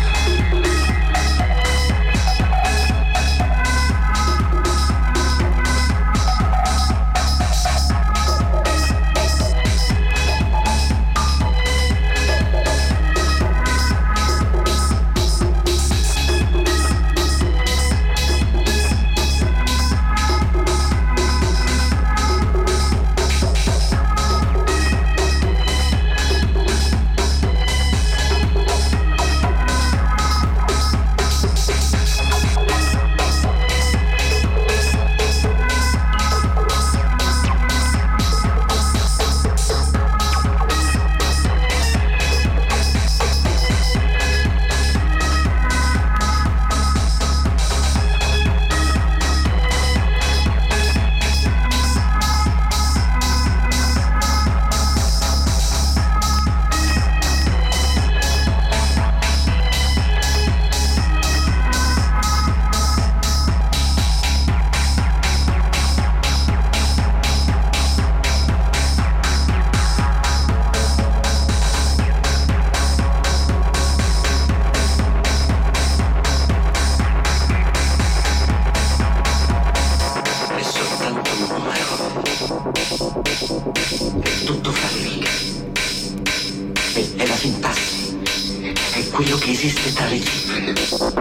Quello che esiste tra le cifre.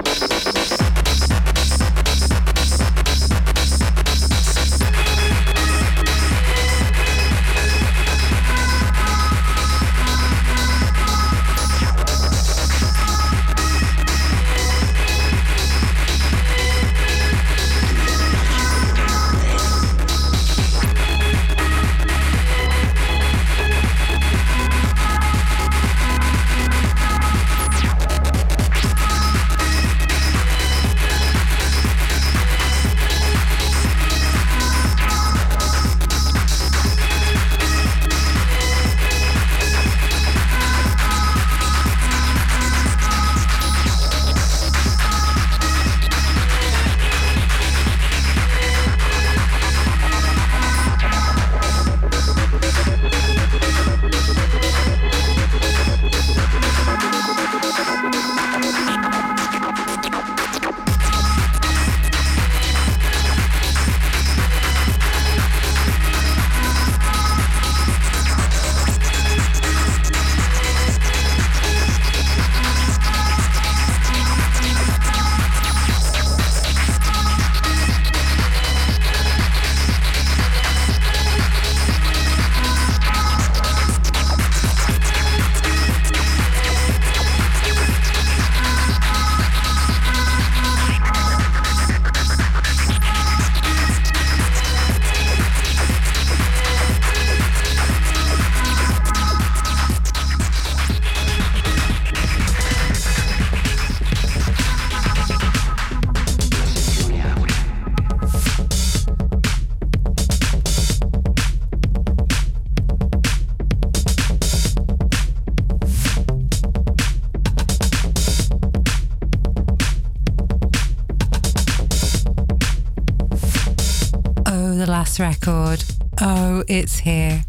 Record. Oh, it's here.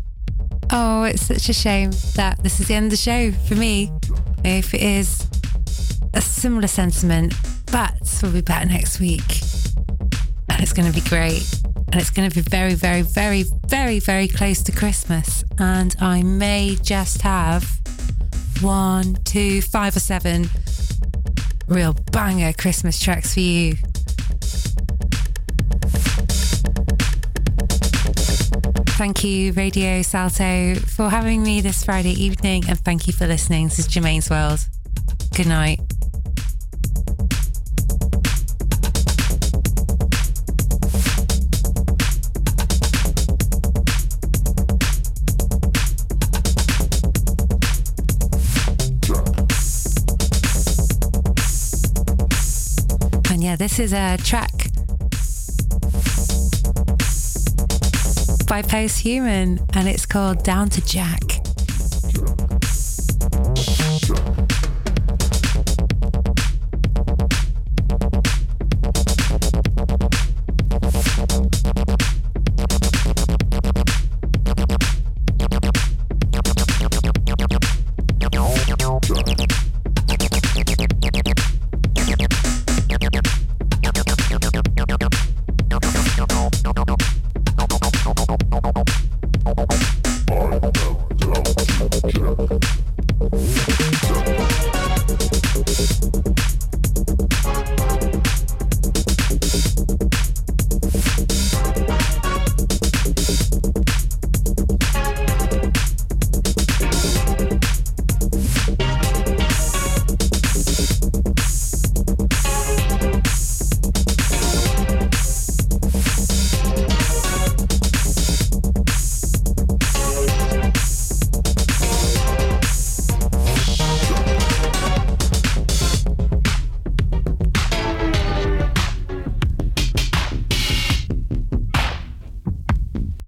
Oh, it's such a shame that this is the end of the show for me. If it is a similar sentiment, but we'll be back next week and it's going to be great, and it's going to be very, very, very, very, very close to Christmas, and I may just have 1, 2, 5 or 7 real banger Christmas tracks for you. Thank you, Radio Salto, for having me this Friday evening, and thank you for listening. This is Germaine's World. Good night. yeah, this is a track by Posthuman and it's called Down to Jack.